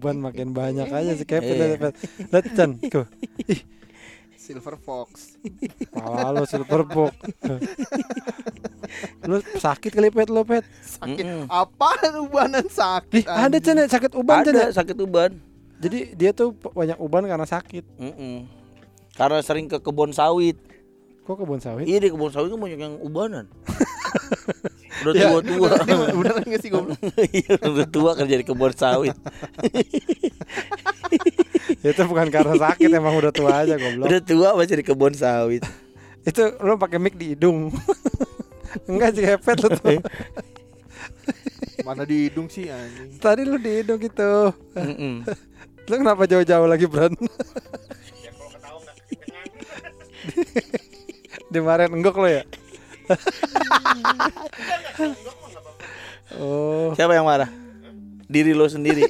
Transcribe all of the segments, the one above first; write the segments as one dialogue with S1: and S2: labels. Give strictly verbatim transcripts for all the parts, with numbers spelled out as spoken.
S1: uban makin banyak aja si Kevin. Lihat Chan, tuh. Ih,
S2: Silver Fox.
S1: pala lo Silver Fox. Lu sakit kali Pet lo Pet.
S2: Sakit. Mm-mm. Apaan ubanan sakit?
S1: Ih, ada Chan sakit uban Chan.
S3: Ada sakit uban.
S1: Jadi dia tuh banyak uban karena sakit.
S3: Mm-mm. Karena sering ke kebun sawit.
S1: Kok kebun sawit?
S3: Iya di kebun sawit kan banyak yang ubanan. Udah
S1: Ya,
S3: tua-tua.
S2: Beneran gak sih goblok?
S3: Iya udah tua kerja di kebun sawit.
S1: Itu bukan karena sakit, emang udah tua aja goblok.
S3: Udah tua masih di kebun sawit.
S1: Itu lu pakai mic di hidung. Enggak sih Pet lu tuh.
S2: Mana di hidung sih anjing?
S1: Tadi lu di hidung gitu. Lu kenapa jauh-jauh lagi Bran?
S4: Ya kalau ketawa nggak kedengeran.
S1: Dimarahin enggok lo ya? Oh,
S3: Siapa yang marah? Diri lo sendiri.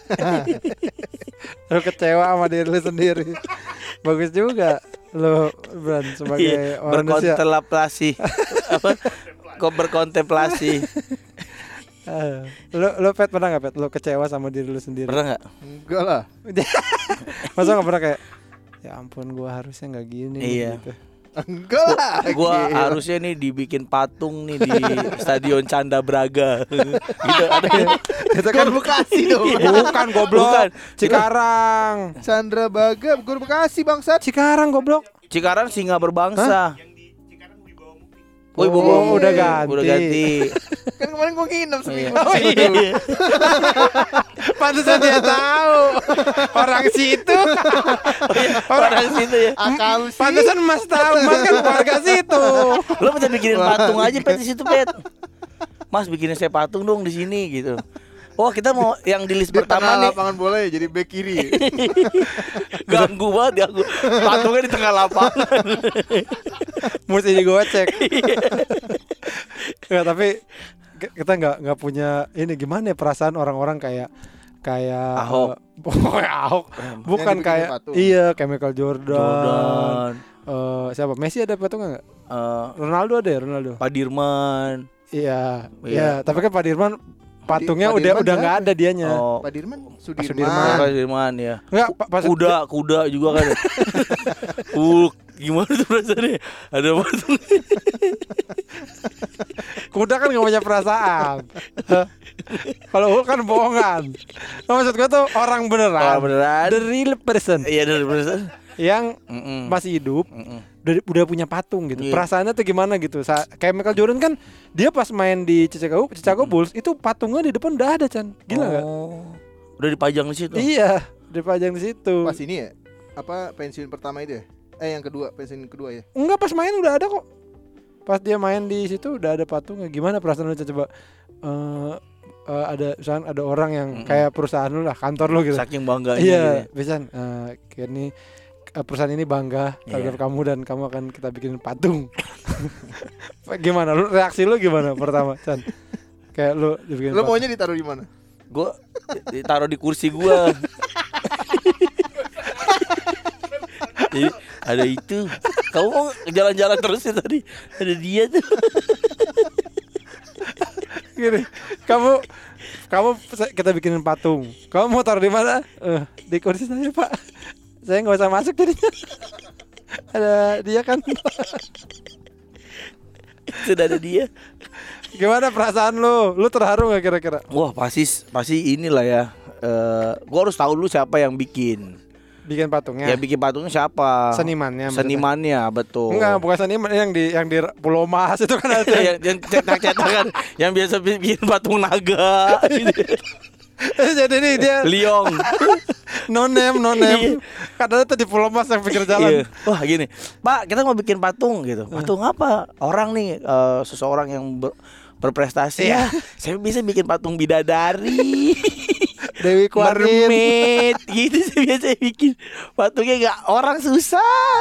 S1: lu kecewa sama diri lu sendiri. Bagus juga lu Bran sebagai
S3: Iya,
S1: manusia.
S3: berkontemplasi. Apa? Kok berkontemplasi?
S1: Uh, lu lu Pet pernah nggak Pet? Lu kecewa sama diri lu sendiri?
S3: Pernah nggak?
S2: Enggak lah.
S1: Masa nggak pernah kayak, ya ampun gua harusnya nggak gini.
S3: Iya.
S1: Gitu.
S2: Enggak lah.
S3: Gua
S2: Gila.
S3: harusnya nih dibikin patung nih di Stadion Canda Braga. Gitu ada.
S1: Itu
S2: Gor Bekasi dong.
S1: Bukan goblok.
S3: Bukan.
S1: Cikarang.
S2: Chandra Baga Gor Bekasi bangsat.
S1: Cikarang goblok.
S3: Cikarang singa berbangsa.
S4: Yang di Cikarang Budi Bawang Mukti.
S3: Oh, Ibu
S1: Oh,
S3: Bawang
S1: udah
S3: Mukti.
S1: ganti.
S3: Udah ganti.
S2: Kan kemarin gua nginep seminggu.
S3: Oh, iya.
S1: Pantesan dia tahu. Orang situ.
S3: Orang situ ya.
S2: Akal sih.
S1: Pantesan Mas tahu, Mas kan warga situ.
S3: Lo bisa bikinin patung aja Pet di situ Pet. Mas bikinin saya patung dong di sini gitu. Oh kita mau yang di list
S2: Di
S3: pertama
S2: tengah
S3: nih.
S2: lapangan bola ya jadi back kiri.
S3: Ganggu banget ya aku. Patungnya di tengah lapangan.
S1: Mesti digocek. Nggak, tapi k- kita nggak nggak punya ini gimana ya perasaan orang-orang kayak kayak
S3: Ahok.
S1: uh, Ahok. Bukan
S2: Yang dibikin
S1: kayak
S2: patung.
S1: iya kayak Michael Jordan.
S3: Jordan.
S1: Eh, siapa? Messi ada patungnya nggak?
S3: eh,
S1: Ronaldo ada ya Ronaldo.
S3: Pak Dirman.
S1: Iya,
S3: Iya.
S1: iya. Tapi kan Pak Dirman patungnya
S2: Pak
S1: udah
S2: Dirman
S1: udah nggak
S2: siapa?
S1: ada dianya.
S3: Oh,
S2: Pak Dirman
S1: Pak
S2: Sudirman.
S1: Sudirman.
S3: Pak Dirman ya.
S1: Enggak, pa- pas
S3: Kuda, kuda juga kan. Uh, gimana tuh perasaannya? Ada patung.
S1: kuda kan nggak punya perasaan. Kalau Hulk kan bohongan. Nah, maksud gue tuh orang beneran.
S3: Orang beneran.
S1: The real person
S3: Iya dari perasaan.
S1: yang
S3: Mm-mm.
S1: masih hidup.
S3: Mm-mm.
S1: Udah, udah punya patung gitu.
S3: Iya.
S1: Perasaannya tuh gimana gitu. Sa- kayak Michael Jordan kan dia pas main di Chicago, Chicago Bulls itu patungnya di depan udah ada Chan. Gila nggak?
S3: Oh. Udah dipajang di situ.
S1: Iya, dipajang di situ.
S2: Pas ini ya. Apa pensiun pertama itu ya? Eh yang kedua, pensiun kedua ya.
S1: Enggak, pas main udah ada kok. Pas dia main di situ udah ada patungnya. Gimana perasaan lu Chan? Coba eh eh, ada misalkan ada orang yang
S3: Mm-mm.
S1: kayak perusahaan lu lah, kantor lu gitu.
S3: Saking bangganya.
S1: Iya,
S3: gitu ya.
S1: bisa. Uh, kayak ini eh, perusahaan ini bangga terhadap
S3: Iya.
S1: kamu dan kamu akan kita bikin patung. Gimana? Lu reaksi lu gimana pertama, Chan? Kayak lu dibikin
S2: Lo
S1: patung.
S2: maunya ditaruh di mana?
S3: Gua ditaruh di kursi gua. Jadi ada itu. Kamu mau jalan-jalan terus ya tadi. Ada dia tuh.
S1: Gini, kamu kamu kita bikinin patung. Kamu mau taruh di mana? Eh, di kursi saya, Pak. Saya nggak usah masuk jadinya. Ada dia kan.
S3: Sudah ada dia.
S1: Gimana perasaan lu? Lu terharu nggak kira-kira?
S3: Wah pasti pasti inilah ya. Eh, gua harus tahu dulu siapa yang bikin.
S1: Bikin patungnya?
S3: Ya bikin patungnya siapa?
S1: Senimannya. maksudnya.
S3: Senimannya betul.
S1: Enggak, bukan seniman yang di yang di Pulau Mas itu kan ada.
S3: yang, yang cetak-cetakan yang biasa bikin patung naga gitu.
S1: Jadi nih dia
S3: Liong.
S1: no name, no name. Kadang tuh di Pulau Mas yang pinggir jalan.
S3: Iya. Wah gini, Pak kita mau bikin patung gitu. Patung apa? Orang nih eh, seseorang yang ber- berprestasi.
S1: Iya.
S3: Ya, saya bisa bikin patung bidadari.
S1: Dewi Kuarin.
S3: Mermaid gitu saya biasa bikin patungnya nggak orang susah.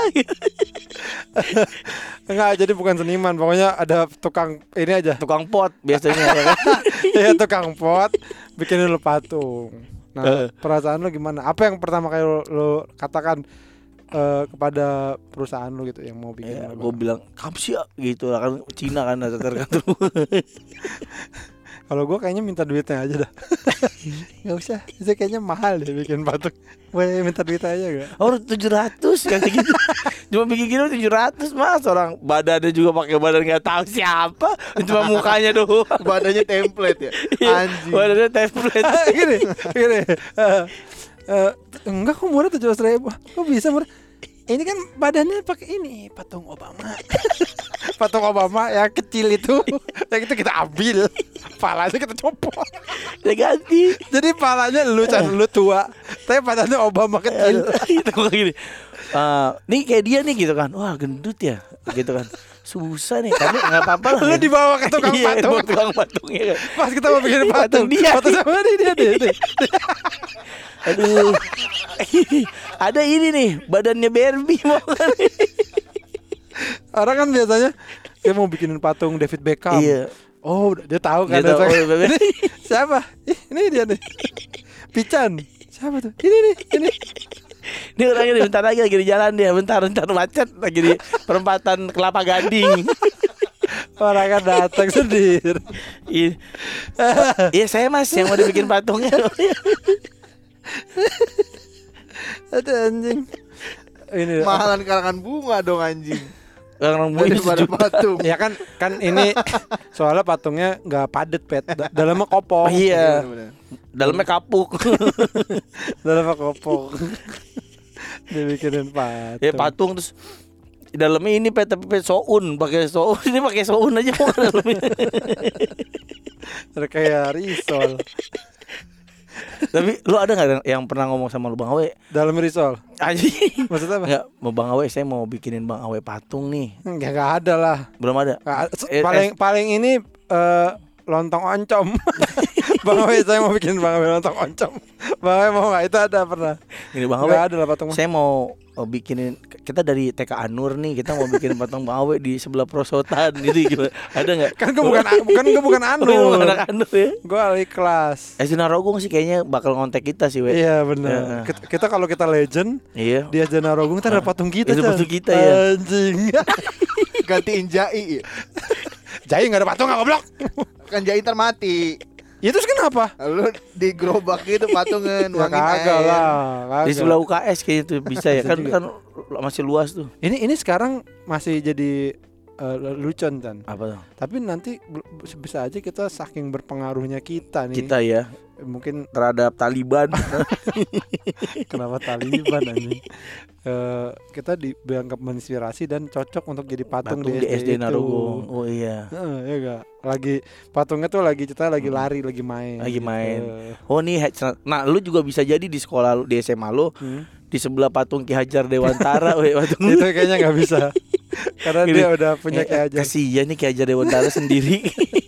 S1: Enggak, jadi bukan seniman. Pokoknya ada tukang ini aja.
S3: Tukang pot biasanya ya kan.
S1: Iya, tukang pot bikinin lu patung. Nah,
S3: Eh.
S1: perasaan lu gimana? Apa yang pertama kali lu, lu katakan eh, kepada perusahaan lu gitu yang mau bikin?
S3: Ya,
S1: lu?
S3: gue bilang kamsia gitu lah kan Cina kan ada tergantung.
S1: Kalau gue kayaknya minta duitnya aja dah. Gak usah, itu kayaknya mahal deh bikin patung. Boleh minta duit aja gak?
S3: Oh tujuh ratus kayak gitu. Cuma bikin gini tujuh ratus mas. Orang badannya juga pakai badan gak tahu siapa. Cuma mukanya doang.
S2: Badannya template ya. Anjing.
S3: Badannya template.
S1: Gini, gini. Uh, uh, enggak kok murah tujuh ratus ribu. Kok bisa murah? Ini kan badannya pakai ini patung Obama. Patung Obama yang kecil itu. Yang itu kita ambil. Palanya kita copot.
S3: Dia ganti.
S1: Jadi palanya lu kan lu tua. Tapi badannya Obama kecil.
S3: Itu kayak gini. Uh, nih kayak dia nih gitu kan. Wah gendut ya. Gitu kan. Susah nih. Tapi gak apa-apa lah.
S1: Lu dibawa ke tukang
S3: iya,
S1: patung.
S3: tukang patungnya kan.
S1: Pas kita mau bikin patung.
S3: Patung dia.
S1: Patung sama dia dia dia. dia.
S3: Aduh. Ada ini nih, badannya Barbie mau kan.
S1: Orang kan biasanya dia mau bikinin patung David Beckham.
S3: Iya.
S1: Oh, dia tahu kan.
S3: Dia tahu,
S1: dia
S3: oh,
S1: ini siapa? Ih, ini dia nih. Pican. Siapa tuh? Ini nih, ini.
S3: Ini orangnya nih, bentar lagi lagi di jalan dia, bentar bentar macet lagi di perempatan Kelapa Gading.
S1: Orang kan datang sendiri.
S3: Iya. Iya saya mas yang mau dibikin patungnya.
S1: Ada anjing. Ini
S2: Mahalan karangan bunga dong anjing.
S3: Orang bunyi
S2: Daripada patung.
S1: ya kan kan ini soalnya patungnya nggak padet pet. Da- dalamnya kopong.
S3: Oh, iya.
S2: Bener-bener.
S3: Dalamnya kapuk.
S1: Dalamnya kopong. Dibikinin patung.
S3: Ya patung terus di dalamnya ini pet tapi pet soun, pakai soun ini pakai soun aja mau ke dalamnya.
S1: Kayak risol.
S3: Tapi lu ada nggak yang pernah ngomong sama lu Bang Awe?
S1: Dalam risol.
S3: Anjing.
S1: Maksudnya apa?
S3: Enggak, mau Bang Awe saya mau bikinin Bang Awe patung nih.
S1: Enggak enggak ada lah.
S3: Belum ada.
S1: Nggak ada.
S3: Eh,
S1: paling paling ini eh, lontong oncom. Bang Awe saya mau bikin Bang Awe lontong oncom. Bang Awe mau nggak? Itu ada pernah.
S3: Ini Bang Awe.
S1: Nggak ada lah patung.
S3: Saya mau oh, bikinin, kita dari T K Anur nih, kita mau bikin patung Bang Awe di sebelah perosotan gitu gimana? Ada nggak?
S1: Kan gue bukan bukan gue bukan
S3: Oh,
S1: Anur.
S3: anak Anur ya.
S1: Gue ahli kelas.
S3: S D Narogong sih kayaknya bakal ngontek kita sih, we.
S1: Iya benar.
S3: Heeh.
S1: Kita, kita kalau kita legend
S3: Iya.
S1: di Ajana Rogung ntar ada patung kita.
S3: Ada
S1: Chan.
S3: patung kita, ya.
S1: Anjing.
S2: Gantiin Jai.
S1: Jai nggak ada patung nggak goblok.
S2: Kan Jai ntar mati.
S1: Ya terus kenapa?
S2: Lu di gerobak gitu patungnya
S1: Ya
S2: nuangin
S1: kagak
S2: air.
S1: lah. Kagak.
S3: Di sebelah U K S kayaknya tuh bisa ya.
S1: Bisa
S3: Kan
S1: juga.
S3: kan masih luas tuh.
S1: Ini ini sekarang masih jadi uh, lucon kan.
S3: Apa tuh?
S1: Tapi nanti bel- bisa aja kita saking berpengaruhnya kita nih.
S3: Kita ya
S1: Mungkin
S3: terhadap Taliban.
S1: kenapa Taliban anjing. Eh, kita dianggap menginspirasi dan cocok untuk jadi patung,
S3: Patung
S1: di,
S3: di S D
S1: itu.
S3: Narogong. Oh iya.
S1: Heeh, ya gak? Lagi patungnya tuh lagi kita lagi lari, lagi main.
S3: Lagi
S1: gitu.
S3: main. Oh nih, nah lu juga bisa jadi di sekolah lu, di S M A lu,
S1: Hmm.
S3: di sebelah patung Ki Hajar Dewantara, we, patung
S1: Itu kayaknya nggak bisa. Karena
S3: Gini,
S1: dia udah punya
S3: eh,
S1: Ki Hajar.
S3: Kasihan nih Ki Hajar Dewantara sendiri.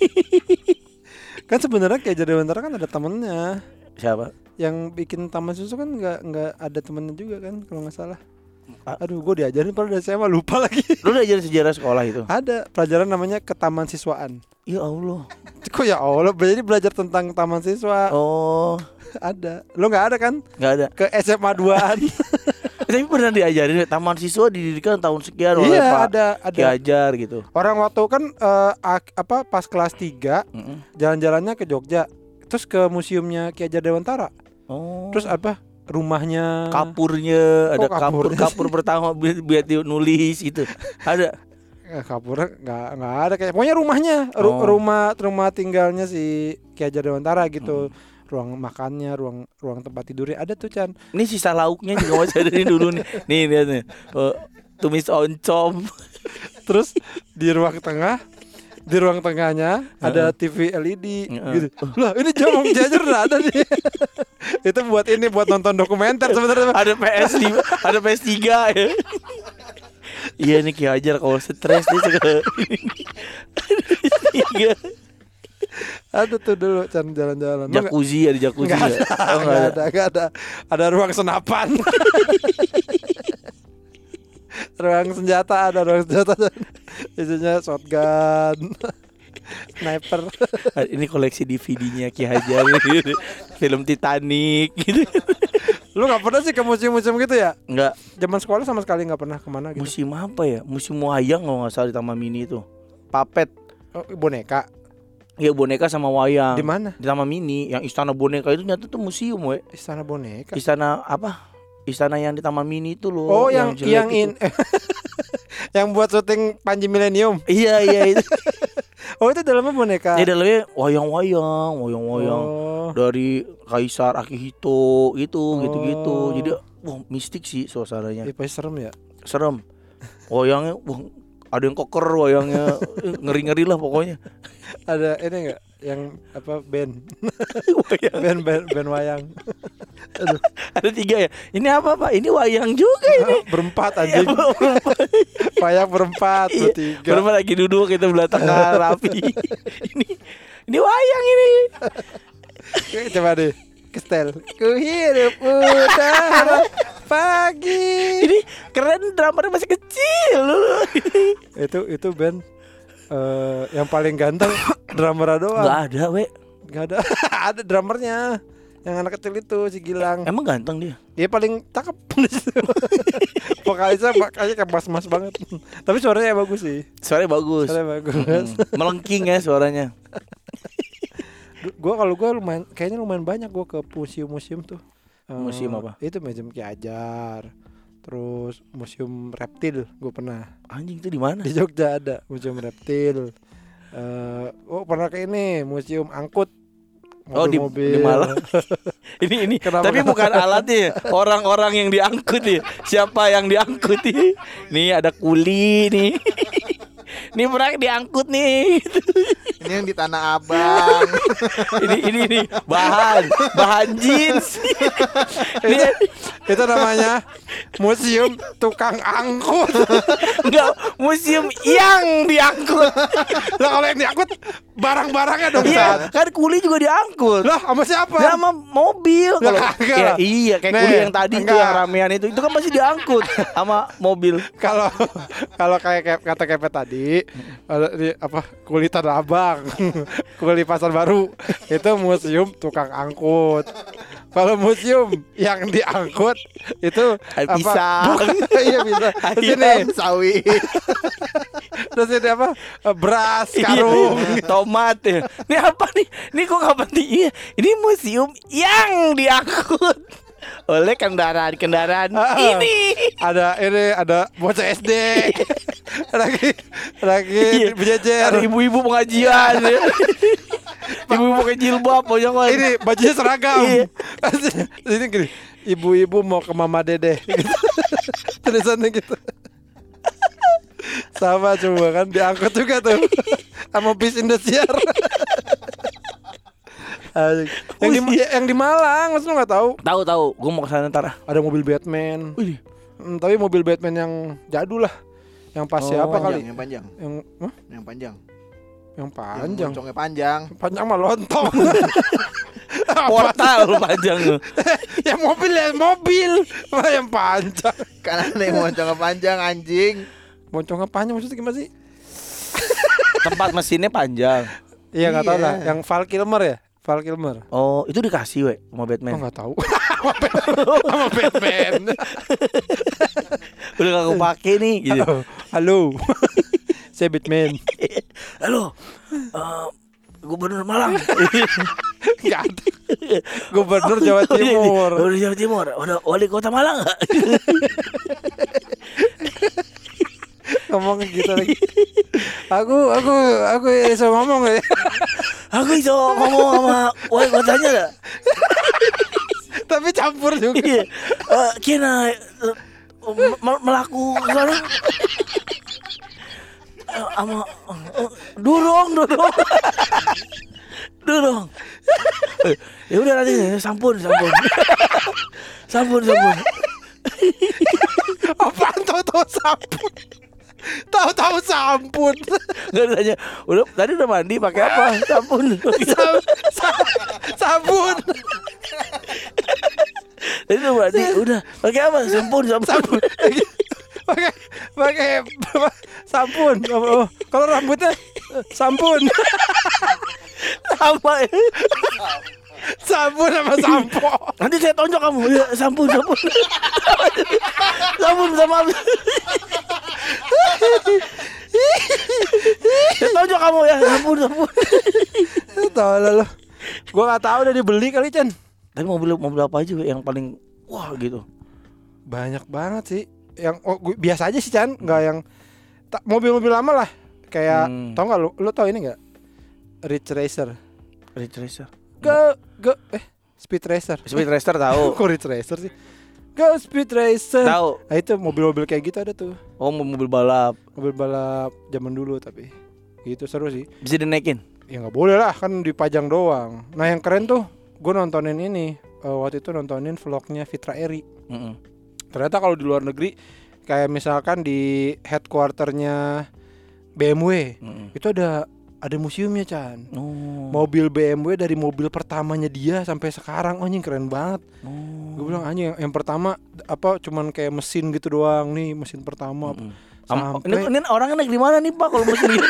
S1: Kan sebenarnya Ki Hajar Dewantara kan ada temennya.
S3: Siapa?
S1: Yang bikin taman susu kan nggak nggak ada temennya juga kan kalau nggak salah.
S3: Ah.
S1: Aduh, gue diajarin padahal dari saya mah lupa lagi.
S3: Lu udah ajarin sejarah sekolah itu?
S1: Ada pelajaran namanya ketaman siswaan.
S3: Ya Allah.
S1: Kok ya Allah, jadi belajar tentang taman siswa.
S3: Oh,
S1: Ada. Lo nggak ada kan?
S3: nggak ada.
S1: Ke S M A duaan.
S3: Tapi pernah diajarin taman siswa didirikan tahun sekian oleh
S1: Iya,
S3: Pak
S1: ada
S3: Ki
S1: ada.
S3: Hajar gitu.
S1: Orang waktu kan eh, ak- apa pas kelas tiga
S3: Mm-mm.
S1: jalan-jalannya ke Jogja. Terus ke museumnya Ki Hajar Dewantara.
S3: Oh.
S1: Terus apa? Rumahnya
S3: kapurnya, ada
S1: Oh,
S3: kapur
S1: kapurnya
S3: kapur pertama bi- biar dia nulis itu. Ada.
S1: Eh, kapurnya nggak nggak ada kayak pokoknya rumahnya ru-
S3: Oh.
S1: rumah rumah tinggalnya si Ki Hajar Dewantara gitu. Ruang makannya, ruang ruang tempat tidurnya ada tuh Chan.
S3: Ini sisa lauknya juga masih ada nih dulu nih. Nih lihat nih. Oh, tumis oncom.
S1: Terus di ruang tengah di ruang tengahnya ada T V L E D
S3: Heeh.
S1: gitu. Lah ini jamu Ki Hajar udah ada nih. Itu buat ini buat nonton dokumenter sebenarnya.
S3: Ada P S lima, ada P S tiga ya. Iya nih Ki Hajar kalau stres dia suka. Tiga.
S1: Ada tuh dulu Chan jalan-jalan. Lu nggak-
S3: Jacuzzi, ada jacuzzi
S1: Nggak
S3: nggak?
S1: ada,
S3: Oh, nggak
S1: nggak
S3: ada.
S1: ada, nggak ada. Ada ruang senapan. Ruang senjata ada ruang senjata. Isinya shotgun, sniper.
S3: Ini koleksi D V D-nya Ki Hajar gitu. Film Titanic gitu.
S1: Lu nggak pernah sih ke museum-museum gitu ya?
S3: Enggak,
S1: Zaman sekolah sama sekali nggak pernah kemana gitu.
S3: museum apa ya? Museum wayang kalau nggak salah di Taman Mini itu. Papet.
S1: Oh, boneka.
S3: Iya boneka sama wayang.
S1: Di mana?
S3: Di Taman Mini. Yang Istana Boneka itu nyata tuh museum, we.
S1: Istana boneka.
S3: Istana apa? Istana yang di Taman Mini itu loh.
S1: Oh, yang
S3: jelek
S1: yang
S3: itu.
S1: in yang buat syuting Panji Millennium.
S3: Iya iya itu.
S1: Oh, itu dalamnya boneka.
S3: Ya dalamnya wayang-wayang, wayang-wayang
S1: Oh.
S3: dari Kaisar Akihito gitu,
S1: Oh.
S3: gitu-gitu. Jadi wah mistik sih suasananya.
S1: Ih, pasti serem ya.
S3: Serem. Wayangnya wah, ada yang koker wayangnya. Ngeri-ngeri lah pokoknya.
S1: Ada ini enggak yang apa band
S3: Wayang.
S1: band band, band wayang. Aduh,
S3: Ada tiga ya. Ini apa Pak? Ini wayang juga ini.
S1: berempat anjing. Wayang berempat,
S3: Iya.
S1: bertiga.
S3: Berapa lagi duduk kita belah tengah rapi. ini ini wayang ini.
S1: Coba deh. Kestel. Ku hidup udara pagi.
S3: Ini keren drummernya masih kecil loh.
S1: Itu itu band eh, yang paling ganteng drummer doang.
S3: Enggak ada, we.
S1: Enggak ada. Ada drummernya. Yang anak kecil itu si Gilang.
S3: Emang ganteng dia.
S1: Dia paling cakep di situ. Vokalisnya makanya kayak mas-mas banget. Tapi suaranya bagus sih.
S3: Suaranya bagus.
S1: Suaranya bagus.
S3: Hmm, melengking ya suaranya.
S1: Gua kalau gua lumayan kayaknya lumayan banyak gua ke museum-museum tuh. Eh,
S3: Museum apa?
S1: Itu museum Ki Hajar. Terus museum reptil gua pernah.
S3: Anjing itu di mana?
S1: Di Jogja ada museum reptil. Eh, oh pernah ke ini museum angkut.
S3: Oh di, di Malang. ini ini.
S1: Kenapa?
S3: Tapi bukan alatnya, orang-orang yang diangkut ya. Siapa yang diangkut nih? Nih ada kuli nih. Ini pernah diangkut nih.
S2: Ini yang di Tanah Abang.
S3: ini ini ini bahan bahan jeans. Ini
S1: Itu namanya museum tukang angkut.
S3: enggak museum yang diangkut.
S1: Lah kalau yang diangkut barang-barangnya dong,
S3: Iya,
S1: Sat.
S3: kan kuli juga diangkut.
S1: Lah sama siapa?
S3: Ya sama mobil
S1: Lah,
S3: kalau
S1: kagak
S3: ya,
S1: lah.
S3: iya kayak
S1: Nih,
S3: kuli yang tadi itu
S1: enggak.
S3: yang ramean itu itu kan masih diangkut sama mobil.
S1: Kalau kalau kayak kayak kata kepet tadi, kalau di apa kuli Tanah Abang, kuli Pasar Baru, itu museum tukang angkut. Kalau museum yang diangkut itu
S3: Air
S1: apa?
S3: pisang.
S1: Bukan, iya bisa. Terus ini,
S2: Ayam sawit.
S1: terus ini apa? Beras,
S3: Iya,
S1: karung.
S3: tomat ya. Ini apa nih? Ini kok nggak penting? Iya, ini museum yang diangkut oleh kendaraan-kendaraan
S1: Ah,
S3: ini.
S1: Ada ini ada bocah S D. lagi lagi
S3: Iya.
S1: berjejer.
S3: Ada ibu-ibu pengajian. ya. Ibu-ibu pakai jilbab pokoknya.
S1: Ini bajunya seragam.
S3: Iya.
S1: Ini gini, ibu-ibu mau ke Mama Dede. Gitu. Tulisannya gitu. Sama coba kan diangkut juga tuh. Sama bis Indosiar. Anjing. yang di yang di Malang, masa lu nggak tahu?
S3: Tahu tahu, gue mau ke sana ntar. ah.
S1: Ada mobil Batman.
S3: Wih,
S1: Hmm, tapi mobil Batman yang jadul lah. Yang pas
S3: Oh,
S1: siapa
S2: Panjang,
S1: kali?
S2: yang panjang.
S1: Yang huh?
S2: Yang panjang.
S1: Yang
S2: Yang
S1: panjang.
S2: moncongnya panjang.
S1: Panjang mah lontong.
S3: portal panjang lu.
S1: yang mobil ya mobil. Wah, yang panjang.
S2: Kan ada yang moncongnya panjang anjing.
S1: Moncongnya panjang maksudnya gimana sih?
S3: Tempat mesinnya panjang.
S1: Iya nggak tahu
S2: Iya.
S1: lah. Yang Val Kilmer ya, Val Kilmer.
S3: Oh, itu dikasih we sama
S1: Oh
S3: Batman.
S1: nggak tahu. Sama Batman.
S3: Udah gak kepake nih gitu.
S1: Halo. Saya Batman.
S3: Halo. eh, Gubernur Malang.
S1: Nggak ada. Gubernur Jawa Timur.
S3: Gubernur Jawa Timur. Udah wali kota Malang enggak?
S1: Ngomong gitu lagi. Aku aku aku bisa ngomong ya.
S3: Aku iso ngomong sama wali kotanya enggak?
S1: Tapi campur juga.
S3: Iya. Eh, kena eh, me- melaku sana. Eh, Sama eh, durung durung. Durung. Eh, Ya udah nanti sampun sampun. Sampun sampun.
S1: Apaan tahu-tahu sampun? Tahu-tahu sampun.
S3: Enggak ditanya. Udah tadi udah mandi pakai apa? Sampun.
S1: Sa- sa- sabun.
S3: Tadi udah mandi udah pakai apa? Sampun sampun.
S1: Sabun. Pakai pakai sampun. Oh, kalau rambutnya sampun.
S3: Sama ya.
S1: Sabun sama sampo.
S3: Nanti saya tonjok kamu. Ya, sampun sampun. Sampun sama Ya tonjok kamu ya. Ampun, ampun.
S1: Tahu lah lo. Gua nggak tahu udah dibeli kali Chan.
S3: Tapi mobil mobil apa aja yang paling wah gitu?
S1: Banyak banget sih. Yang oh, gua, biasa aja sih Chan, nggak yang ta, mobil-mobil lama lah. Kayak
S3: Hmm.
S1: tau nggak lu? Lu tau ini nggak? Ridge Racer.
S3: Ridge Racer.
S1: Ke ke eh Speed Racer.
S3: Speed Racer tahu.
S1: Kok Ridge Racer sih? Go Speed Racer.
S3: Tahu.
S1: Nah itu mobil-mobil kayak gitu ada tuh.
S3: Oh, mobil balap.
S1: Mobil balap zaman dulu tapi itu seru sih.
S3: Bisa dinaikin.
S1: Ya nggak boleh lah kan dipajang doang. Nah yang keren tuh gue nontonin ini uh, waktu itu nontonin vlognya Fitra Eri.
S3: Mm-mm.
S1: Ternyata kalau di luar negeri kayak misalkan di headquarternya B M W
S3: Mm-mm.
S1: itu ada ada museumnya Chan.
S3: Oh.
S1: Mobil B M W dari mobil pertamanya dia sampai sekarang, oh anjing keren banget.
S3: Oh.
S1: Gue bilang anjing yang, yang pertama apa cuman kayak mesin gitu doang nih mesin pertama.
S3: Mm-mm. Am-
S1: Sampai
S3: ini, ini orangnya naik di mana nih Pak kalau mesin gitu?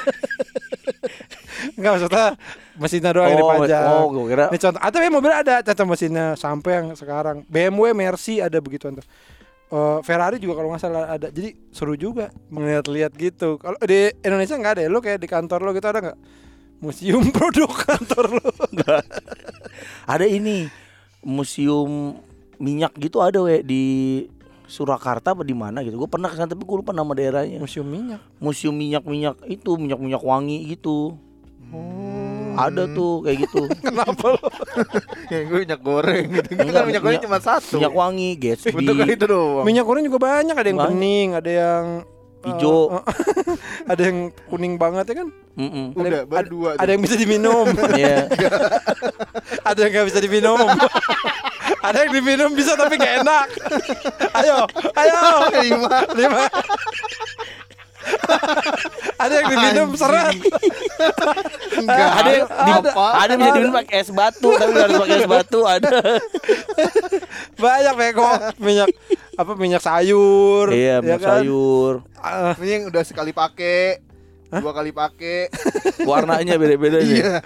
S1: enggak maksudnya mesinnya doang yang dipajang.
S3: Oh, gue kira.
S1: Ini contoh, atau ya mobil ada contoh mesinnya sampai yang sekarang B M W Mercy ada begituan tuh. Uh, Ferrari juga kalau nggak salah ada. Jadi seru juga melihat-lihat gitu. Kalau di Indonesia nggak ada ya? Lo kayak di kantor lo gitu ada nggak? Museum produk kantor lo?
S3: Enggak. Ada ini museum minyak gitu ada we di Surakarta apa di mana gitu. Gue pernah kesana tapi gue lupa nama daerahnya.
S1: Museum minyak.
S3: Museum minyak-minyak itu minyak-minyak wangi gitu.
S1: Oh.
S3: Ada tuh kayak gitu.
S1: Kenapa lo?
S2: Yang gue minyak goreng gitu. Kan
S3: Enggak,
S2: minyak goreng
S3: minyak-
S2: cuma satu.
S3: Minyak wangi, Gatsby.
S2: Bentuknya itu doang.
S1: Minyak goreng juga banyak. Ada yang
S3: Banyak.
S1: bening, ada yang uh,
S3: Hijau.
S1: uh, ada yang kuning banget ya kan?
S3: Mm-mm.
S2: Udah,
S1: Ada-
S2: baru dua.
S1: Ada yang bisa diminum.
S3: Iya.
S1: Ada yang nggak bisa diminum. Ada yang diminum bisa tapi nggak enak. Ayo, ayo.
S2: lima.
S1: Lima. Ada yang diminum seret.
S2: Enggak.
S3: Ada yang di,
S2: Apa?
S3: ada yang bisa diminum pakai es batu tapi nggak harus pakai es batu ada.
S1: Banyak bego. Minyak apa minyak sayur.
S3: Iya,
S1: ya
S3: minyak
S1: kan?
S3: sayur.
S1: Ah,
S2: Ini yang udah sekali pakai. Dua kali pakai.
S3: Warnanya beda-beda nih.
S2: Iya.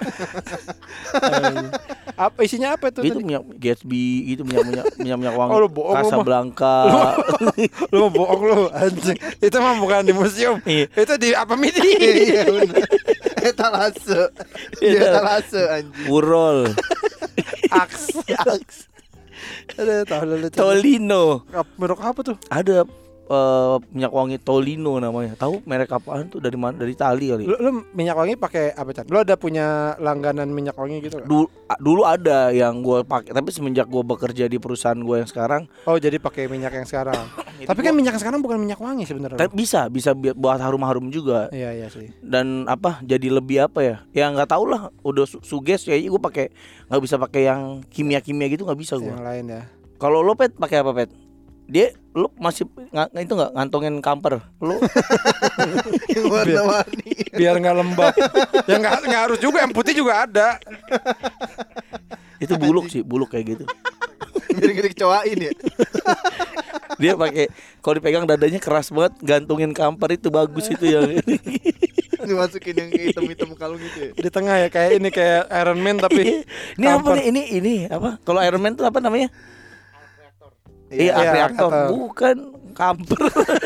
S1: apa isinya apa itu?
S3: Itu
S1: tadi?
S3: minyak Gatsby, itu minyak-minyak minyak-minyak wangi.
S1: Oh, lu bohong lu mah.
S3: Casablanca.
S1: Lu mau bohong lu anjing. Itu mah bukan di museum.
S3: Iya.
S1: Itu di apa midi?
S2: Iya benar. Etalase. Dia etalase anjing.
S3: Urol.
S1: Aks. Ada tahu lu.
S3: Tolino.
S1: Merek apa tuh?
S3: Ada eh, minyak wangi Tolino namanya. Tahu merek apaan tuh dari mana? Dari Itali kali.
S1: Lu, lu minyak wangi pakai apa Chan? Lu ada punya langganan minyak wangi gitu nggak?
S3: Dulu, dulu ada yang gue pakai, tapi semenjak gue bekerja di perusahaan gue yang sekarang,
S1: Oh jadi pakai minyak yang sekarang.
S3: Itu
S1: Tapi kan
S3: gua-
S1: minyak yang sekarang bukan minyak wangi sebenarnya.
S3: tapi bisa bisa bi- buat harum-harum juga.
S1: Iya iya sih.
S3: Dan apa? Jadi lebih apa ya? Ya nggak tahu lah. Udah su- suges kayaknya gue pakai nggak bisa pakai yang kimia-kimia gitu nggak bisa gue.
S1: Yang lain ya.
S3: Kalau lo pet pakai apa pet? Dia lo masih ng- itu nggak ngantongin kamper lo?
S2: Yang warna-warni.
S1: Biar nggak lembab. Ya nggak nggak harus juga. Yang putih juga ada.
S3: Itu buluk sih, buluk kayak gitu.
S2: Biar gak dikecoain ya.
S3: Dia pakai kalau dipegang dadanya keras banget, gantungin kamper itu bagus itu ya.
S2: Dimasukin yang kayak hitam-hitam kalung gitu ya.
S1: Di tengah ya kayak ini kayak Iron Man tapi
S3: Ini apa
S1: kamper.
S3: nih? Ini ini apa? Kalau Iron Man itu apa namanya? Iya,
S1: Iya,
S3: reaktor.
S1: atau-
S3: Bukan kamper.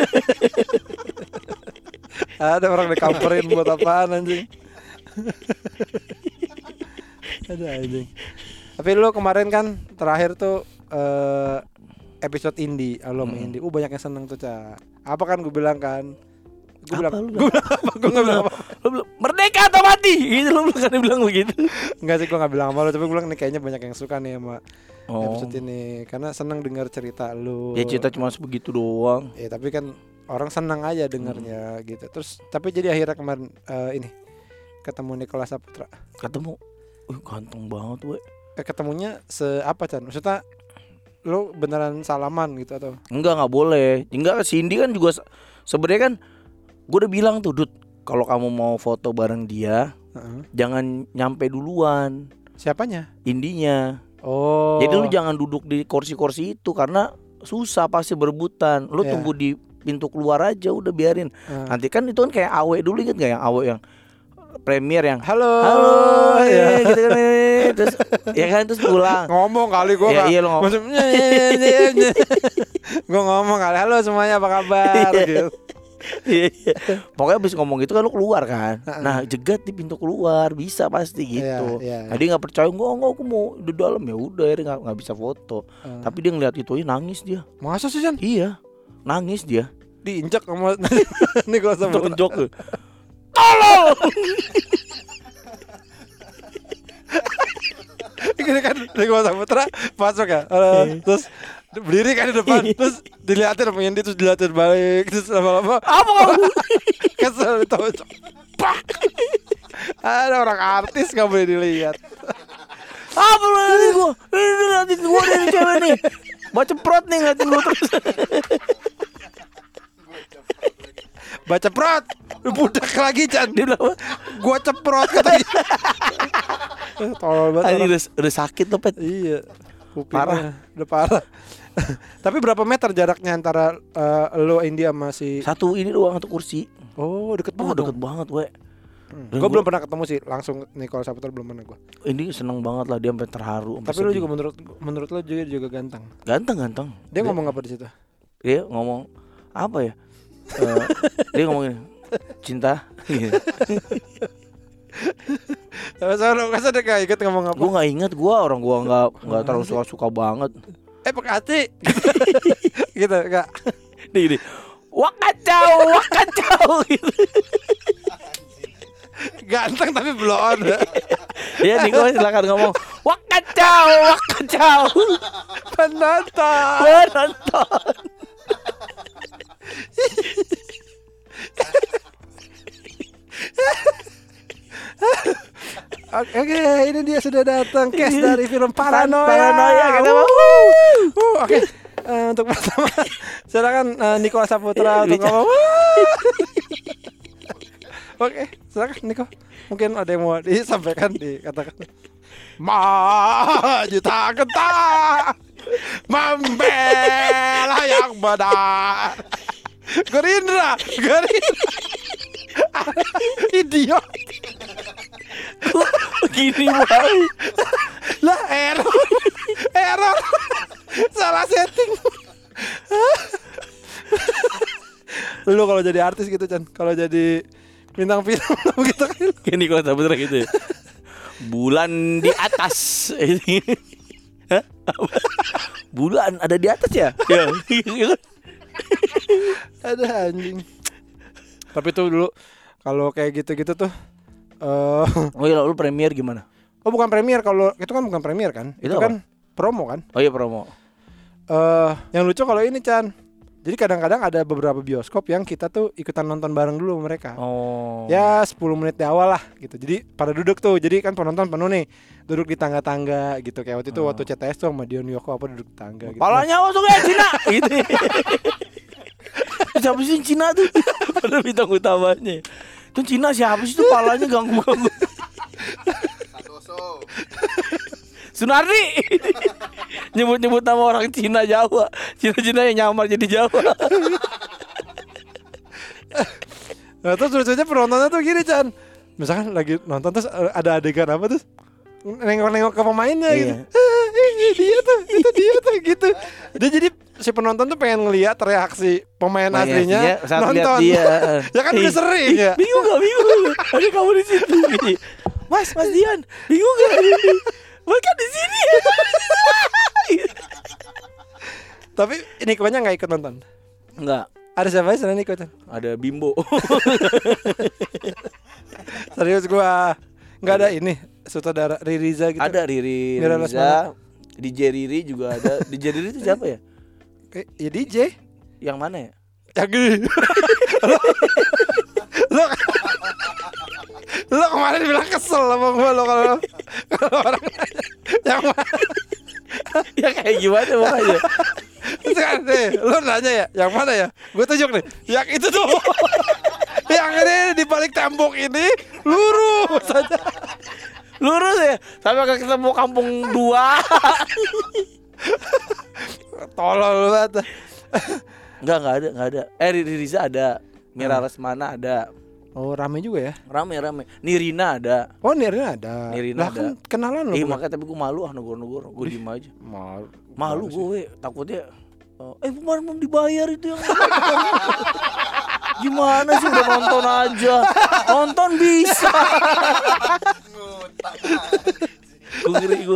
S1: Ada orang dikamperin buat apaan anjing. Ada anjing. Tapi lu kemarin kan terakhir tuh eh, episode indie, lo main
S3: Hmm.
S1: indie. Uh banyak yang seneng tuh, Ca. Apa kan gue bilang kan? Gue
S3: Apa
S1: bilang,
S3: lu
S1: gue bilang apa? Gue nggak bilang apa?
S3: Lo bilang merdeka atau mati? Gitu lo bukan bilang begitu.
S1: Enggak sih, gue nggak bilang sama lo. Tapi gue bilang nih kayaknya banyak yang suka nih sama
S3: Oh.
S1: episode ini karena seneng dengar cerita lu.
S3: Ya cerita cuma sebegitu doang.
S1: Ya tapi kan orang senang aja dengarnya gitu. Terus tapi jadi akhirnya kemarin eh, ini ketemu Nicholas Saputra.
S3: Ketemu, uh, ganteng banget we.
S1: Eh, ketemunya se apa Chan? Maksudnya lu beneran salaman gitu atau?
S3: Enggak, nggak boleh. Enggak, Cindy kan juga se- sebenarnya kan gue udah bilang tuh, Dut, kalau kamu mau foto bareng dia,
S1: Heeh.
S3: jangan nyampe duluan
S1: Siapanya?
S3: indinya.
S1: Oh.
S3: Jadi lu jangan duduk di kursi-kursi itu karena susah pasti berebutan. Lu
S1: Iya.
S3: tunggu di pintu keluar aja, udah biarin.
S1: Eh.
S3: Nanti kan itu kan kayak awe dulu, inget gak yang awe yang premier yang
S1: Halo.
S3: halo
S1: ya.
S3: ya gitu kan eh. Terus ya kan terus pulang.
S1: Ngomong kali gua
S3: Ya,
S1: nggak-
S3: iya, lu ngomong.
S1: maksudnya gua ngomong kali halo semuanya apa kabar
S3: Iya.
S1: gitu.
S3: Iya, iya. Pokoknya abis ngomong gitu kan lu keluar kan. Nah jegat di pintu keluar bisa pasti gitu.
S1: Iya, iya,
S3: Nah, dia nggak percaya, enggak enggak aku mau di dalam, ya udah akhirnya nggak nggak bisa foto.
S1: Uh.
S3: Tapi dia ngeliat itu, nangis dia.
S1: Masa sih Chan?
S3: Iya, nangis dia.
S1: Diinjak sama Nicholas Saputra.
S3: Tonjok tuh. Tolong.
S1: Gini kan Nicholas Saputra masuk ya, uh, terus berdiri kan di depan, terus dilihatin sama Yendi, terus dilihatin balik, terus lama-lama
S3: Apa kamu?
S1: kesel ditonjok. Pak. Ada orang artis gak boleh dilihat.
S3: Apa lu ngeliatin gua? Ini ngeliatin gua dari cewek nih. Baca prot nih ngeliatin gua terus.
S1: Baca prot, budak lagi Chan.
S3: Dia bilang apa?
S1: Gua ceprot katanya. Tolol banget.
S3: Anjing
S1: orang.
S3: udah, udah sakit loh Pet.
S1: Iya. Kupingnya
S3: Parah.
S1: udah parah. Tapi berapa meter jaraknya antara uh, lo India sama si?
S3: Satu ini doang, satu kursi.
S1: Oh deket
S3: Oh
S1: banget.
S3: deket banget we.
S1: Hmm.
S3: Dan
S1: Gue
S3: gua-
S1: belum pernah ketemu sih langsung Nicholas Saputra, belum pernah gue.
S3: Ini seneng banget lah, dia sampai terharu. Sampai
S1: Tapi lo
S3: sedih.
S1: juga menurut menurut lo juga juga ganteng.
S3: Ganteng-ganteng.
S1: Dia ngomong apa di situ?
S3: Dia ngomong apa ya? Eh, dia ngomongin cinta.
S1: Masa lo masa dia gak ikut ngomong apa?
S3: Gue nggak inget, gue orang gue nggak nggak terlalu suka suka banget.
S1: Eh pakai hati. Gitu enggak?
S3: Nih nih, wah kacau, wah kacau gitu.
S1: Ganteng tapi belum on.
S3: Ya Niko silakan ngomong. Wah kacau, wah kacau.
S1: Penonton.
S3: Penonton.
S1: Oke, oke, ini dia sudah datang cast dari film Paranoia.
S3: Paranoia, kita mau.
S1: Uh, Oke, eh, untuk pertama, silakan uh, Nicholas Saputra untuk ngomong. Oke, silakan Niko. Mungkin ada yang mau disampaikan, dikatakan. Maju tak gentar, membela yang benar. Gerindra, Gerindra. Idiot.
S3: Begini banget.
S1: Lah error. Error. Salah setting. Lu kalau jadi artis gitu Chan, kalau jadi bintang film gitu kan.
S3: Kayak Niko Saputra gitu ya. Bulan di atas. Hah? Apa? Bulan ada di atas ya? Ya.
S1: Ada anjing. Tapi tuh dulu kalau kayak gitu-gitu tuh uh,
S3: Oh iya, lu premier gimana?
S1: oh bukan premier, kalau itu kan bukan premier kan?
S3: Itu
S1: Itu,
S3: apa?
S1: kan promo kan?
S3: Oh iya promo.
S1: Eh yang lucu kalau ini Chan. Jadi kadang-kadang ada beberapa bioskop yang kita tuh ikutan nonton bareng dulu sama mereka.
S3: Oh.
S1: Ya sepuluh menit di awal lah gitu. Jadi pada duduk tuh. Jadi kan penonton penuh nih. Duduk di tangga-tangga gitu. Kayak waktu itu
S3: Oh.
S1: waktu C T S tuh sama Dion Yoko apa duduk di tangga gitu.
S3: Palanya masuk ya Cina gitu. Siapa sih Cina tuh? Pada bintang utamanya. Itu Cina siapa sih tuh palanya ganggu-ganggu.
S2: Santoso.
S3: Sunardi. Nyebut-nyebut nama orang Cina Jawa. Cina-Cina yang nyamar jadi Jawa.
S1: Nah terus lucunya penontonnya tuh gini Chan. Misalkan lagi nonton terus ada adegan apa terus nengok-nengok ke pemainnya
S3: Iya.
S1: gitu. Ah, ini dia tuh, itu dia tuh gitu. Dia jadi si penonton tuh pengen ngeliat reaksi pemain
S3: Pemain
S1: aslinya
S3: aslinya saat lihat
S1: nonton.
S3: dia.
S1: Ya kan udah
S3: Ih,
S1: sering ya.
S3: Bingung gak? Bingung gak? Ada kamu di situ. Mas, Mas Dian, bingung gak? Mas kan di sini.
S1: Tapi Nikonya nggak ikut nonton.
S3: Enggak,
S1: Ada siapa selain Niko Chan?
S3: ada Bimbo.
S1: Serius gua nggak ada ini sutradara Ririza gitu.
S3: Ada Riri
S1: Mira
S3: Riza, D J Riri juga ada. D J Riri itu siapa ya?
S1: Eh, ya D J.
S3: Yang mana ya?
S1: Ya gini. Lo Lo kemarin bilang kesel sama gua lo kalau kalau orang nanya, yang mana?
S3: Ya kayak gimana makanya?
S1: Sekarang nih, lo nanya ya, yang mana ya? Gue tunjuk nih, yang itu tuh. Yang ini di balik tembok ini lurus saja.
S3: Lurus ya, sampai ke ketemu kampung dua.
S1: Tolol banget.
S3: Enggak, enggak ada, enggak ada. Eh Riri Riza ada, Mira Lesmana ada.
S1: Oh, rame juga ya.
S3: Rame rame. Nirina ada.
S1: Oh, Nirina ada.
S3: Nirina
S1: Lah kan
S3: ada.
S1: kenalan lo.
S3: Eh
S1: gua.
S3: makanya tapi gue malu ah negor-negor, gue diem aja.
S1: Malu.
S3: Malu gue, takutnya. Eh kemarin belum dibayar itu yang Gimana sih udah nonton aja. Nonton bisa. Gue ngeri gue.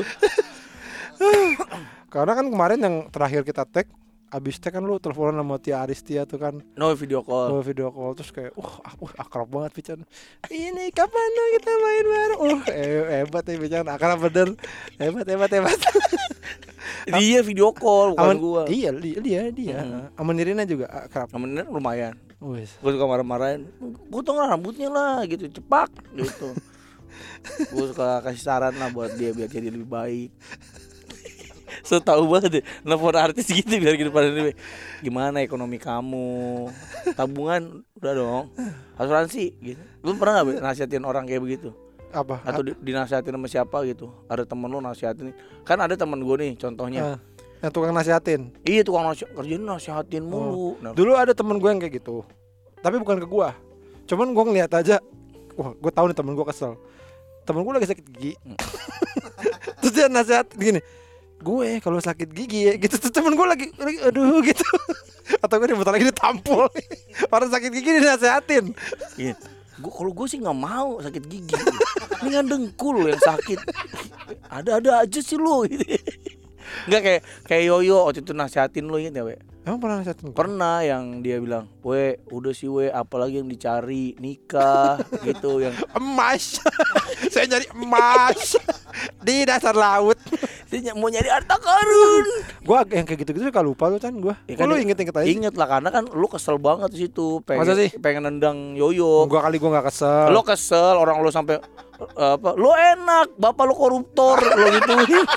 S1: Karena kan kemarin yang terakhir kita tag, abis tag kan lu teleponan sama Tia Aristia tuh kan.
S3: No video call.
S1: Oh, video call terus kayak uh, uh akrab banget Pican. Ini kapan dong kita main bareng? Uh eh, hebat nih Pican, akrab bener. Hebat hebat hebat.
S3: Dia video call bukan
S1: Aman,
S3: gua.
S1: Iya dia dia dia.
S3: Hmm.
S1: Aman Nirina juga akrab.
S3: Namanya lumayan.
S1: Wes.
S3: Gue suka marah-marahin, potong rambutnya lah gitu, cepak gitu. Gue suka kasih saran lah buat dia biar jadi lebih baik. So tahu banget deh, nelfon artis gitu biar gitu pada ini. Gimana ekonomi kamu? Tabungan udah dong. Asuransi gitu. Lu pernah enggak nasihatin orang kayak begitu?
S1: Apa?
S3: Atau di, dinasihatin sama siapa gitu? Ada temen lu nasihatin. Kan ada temen gue nih contohnya.
S1: Uh, yang tukang nasihatin.
S3: Iya tukang nasihat, kerjanya nasihatin mulu.
S1: Oh.
S3: Nah,
S1: Dulu ada temen gue yang kayak gitu. Tapi bukan ke gue. Cuman gue ngeliat aja. Wah, gue tahu nih temen gue kesel. Temen gue lagi sakit gigi.
S3: Hmm.
S1: Terus dia nasihat gini. Gue kalau sakit gigi ya gitu. Terus temen gue lagi, lagi aduh gitu. Atau gue bentar lagi ditampol. Orang sakit gigi dinasehatin.
S3: iya. Gue kalau gue sih nggak mau sakit gigi. Ini kan dengkul yang sakit. Ada-ada aja sih lu. Nggak kayak kayak Yoyo waktu itu nasihatin lu inget ya, we?
S1: Emang pernah nasihatin?
S3: Pernah yang dia bilang, "We, udah sih we, apalagi yang dicari nikah gitu yang
S1: Emas. Saya nyari emas di dasar laut.
S3: dia ny- mau nyari harta karun."
S1: Gue yang kayak gitu-gitu suka lupa tuh kan gue.
S3: Ya
S1: Kok lu
S3: dia-
S1: inget-inget aja?
S3: Inget lah karena kan lu kesel banget di situ, pengen
S1: Masa sih?
S3: pengen nendang Yoyo.
S1: Gua kali gue nggak kesel.
S3: Lo kesel orang lo sampai eh, apa? Lo enak, bapak lo koruptor, lo gitu.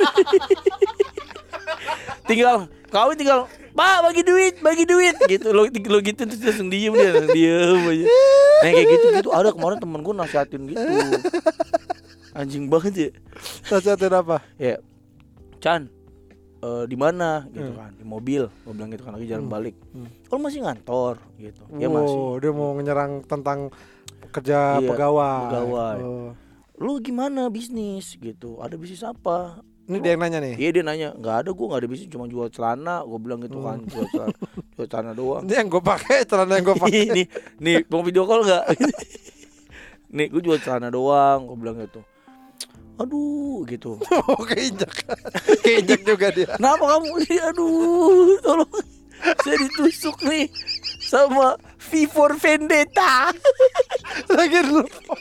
S3: Tinggal kawin tinggal, "Pak, bagi duit, bagi duit." Gitu lo lo gitu terus dia langsung diem dia, langsung diem aja. Nah kayak gitu gitu ada kemarin temen gue nasihatin gitu. Anjing banget ya.
S1: Nasihatin apa?
S3: Ya, Chan, eh, di mana gitu
S1: Hmm.
S3: kan, di mobil. Gue bilang gitu kan lagi jalan
S1: Hmm.
S3: balik.
S1: Hmm.
S3: Kalau masih ngantor gitu. Ya
S1: Wow,
S3: masih.
S1: dia mau menyerang tentang kerja
S3: Iya,
S1: pegawai.
S3: pegawai.
S1: Oh.
S3: Lu gimana bisnis gitu? Ada bisnis apa?
S1: Ini dia yang nanya nih.
S3: Iya dia nanya, nggak ada, gue nggak ada bisnis, cuma jual celana. Gue bilang gitu kan, jual celana, jual celana doang.
S1: Ini yang gue pakai, celana yang gue pakai.
S3: nih, nih mau video call nggak? Nih gue jual celana doang. Gue bilang gitu. Aduh gitu.
S1: Oh, keinjak. Keinjak juga dia.
S3: Kenapa kamu? Aduh, tolong. Saya ditusuk nih sama V for Vendetta.
S1: Lagi telepon.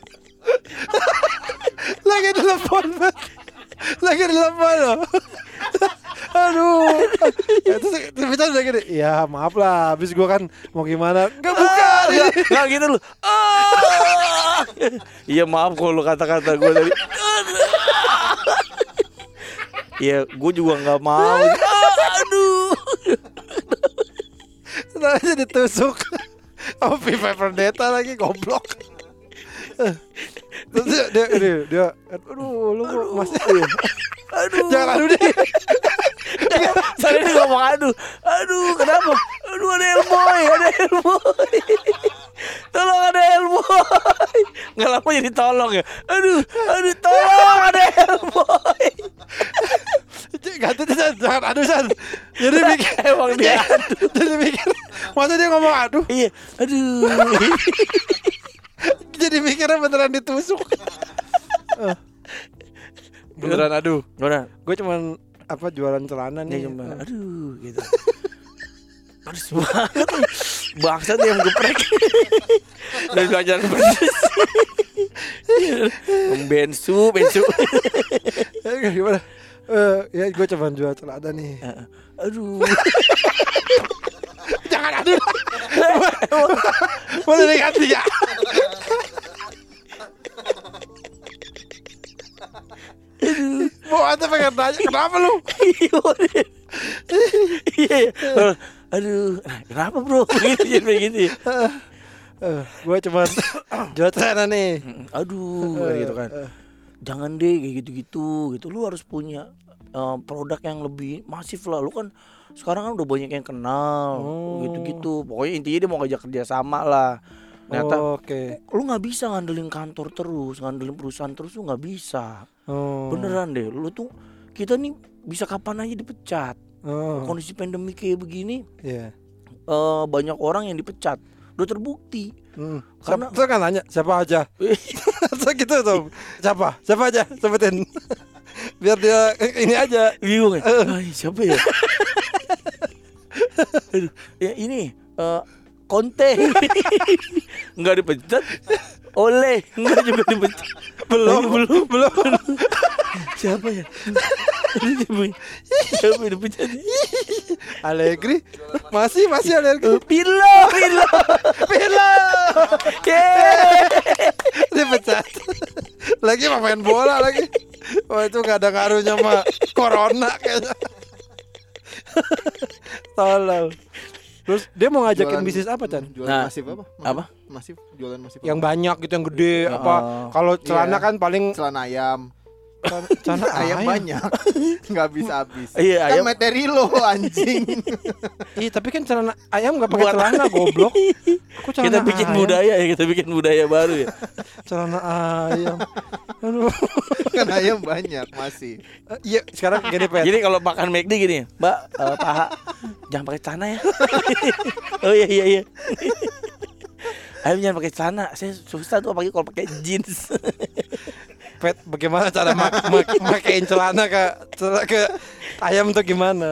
S1: Lagi telepon. Lagi telepon loh. Aduh. Ya, terus terus udah gini. Ya maaf lah, habis gue kan mau gimana? Enggak bukan.
S3: Nggak, nggak gitu lu. Ah! Iya maaf kalau lu kata-kata gue tadi. Iya, gue juga nggak mau. Aduh.
S1: Nah, aja ditusuk. Oh, V for Vendetta lagi goblok. Terus dia dia dia, dia aduh lu kok masih
S3: Aduh.
S1: jangan aduh deh.
S3: Saya ini ngomong aduh. Aduh, kenapa? Aduh ada Elboy, ada Elboy. Tolong ada Elboy. Nggak lama jadi tolong ya. Aduh, aduh tolong ada Elboy.
S1: Ganti San, jangan aduh San. Jadi mikir
S3: Emang dia aduh.
S1: jadi mikir masa dia ngomong aduh.
S3: Iya, aduh.
S1: Jadi mikirnya beneran ditusuk. Eh, beneran aduh.
S3: Gimana?
S1: Gue cuman apa jualan celana
S3: Dia
S1: nih.
S3: cuma aduh gitu. Pedes banget nih. Bangsat yang geprek. Dan belajar pedes. Bensu, bensu.
S1: Eh, gimana? Eh, ya gue cuman jual celana nih.
S3: Aduh.
S1: Jangan aduh. Boleh diganti ya. Mau ada pengen tanya kenapa lu?
S3: Iya. Aduh, kenapa bro? Begitu jadi begitu. Ya?
S1: Uh, gue cuman jual celana nih.
S3: Aduh, kayak gitu kan. Jangan deh kayak gitu-gitu gitu. Lu harus punya uh, produk yang lebih masif lah. Lu kan sekarang kan udah banyak yang kenal
S1: Oh.
S3: gitu-gitu. Pokoknya intinya dia mau ngajak kerja sama lah. Ternyata
S1: Oh, oke.
S3: lu nggak bisa ngandelin kantor terus, ngandelin perusahaan terus lu nggak bisa.
S1: Oh.
S3: Beneran deh. Lu tuh kita nih bisa kapan aja dipecat.
S1: Oh.
S3: Kondisi pandemi kayak begini
S1: Iya.
S3: uh, banyak orang yang dipecat. udah terbukti.
S1: Hmm.
S3: Karena-
S1: Siapa, kan nanya siapa aja. So gitu tuh. Siapa? Siapa aja? Sebutin. Biar dia ini aja.
S3: Bingung ya. Ay, siapa ya? Aduh, ya ini eh, Conte. Enggak dipecat. Oleh enggak juga dipecat.
S1: Belum,
S3: belum,
S1: belum.
S3: Siapa ya? Siapa ya? Siapa yang dipecat?
S1: Allegri masih masih Allegri.
S3: Pirlo, Pirlo.
S1: Pirlo
S3: Yeay.
S1: dipecat. Lagi main bola lagi. Wah itu gak ada ngaruhnya sama corona kayaknya. Tolong. Terus dia mau ngajakin
S2: Jualan-
S1: bisnis apa, Chan?
S2: Jualan
S3: Nah,
S2: masif apa?
S3: apa?
S2: Masif, jualan masif.
S1: Yang banyak gitu, yang gede
S3: Ya,
S1: apa?
S3: oh.
S1: Kalau celana
S2: Iya.
S1: kan paling
S2: celana ayam.
S1: celana
S2: Ayam
S1: ayam.
S2: banyak. Enggak habis-habis.
S3: Iya,
S2: Kan
S3: ayam.
S2: materi lo anjing.
S1: Iya, tapi kan celana ayam enggak pakai
S3: Buat-
S1: celana, goblok. Aku celana
S3: Kita bikin
S1: ayam.
S3: budaya ya, kita bikin budaya baru ya.
S1: Celana ayam. Aduh.
S2: Kan ayam banyak masih.
S1: Eh, Iya, sekarang gini, Pet.
S3: Jadi kalau makan McD gini, Mbak, eh, paha jangan pakai celana ya. Oh iya iya iya. Ayam jangan pakai celana, saya susah tuh apalagi kalau pakai jeans.
S1: Pet, bagaimana cara mak mak makein celana ke celana ke ayam tuh gimana?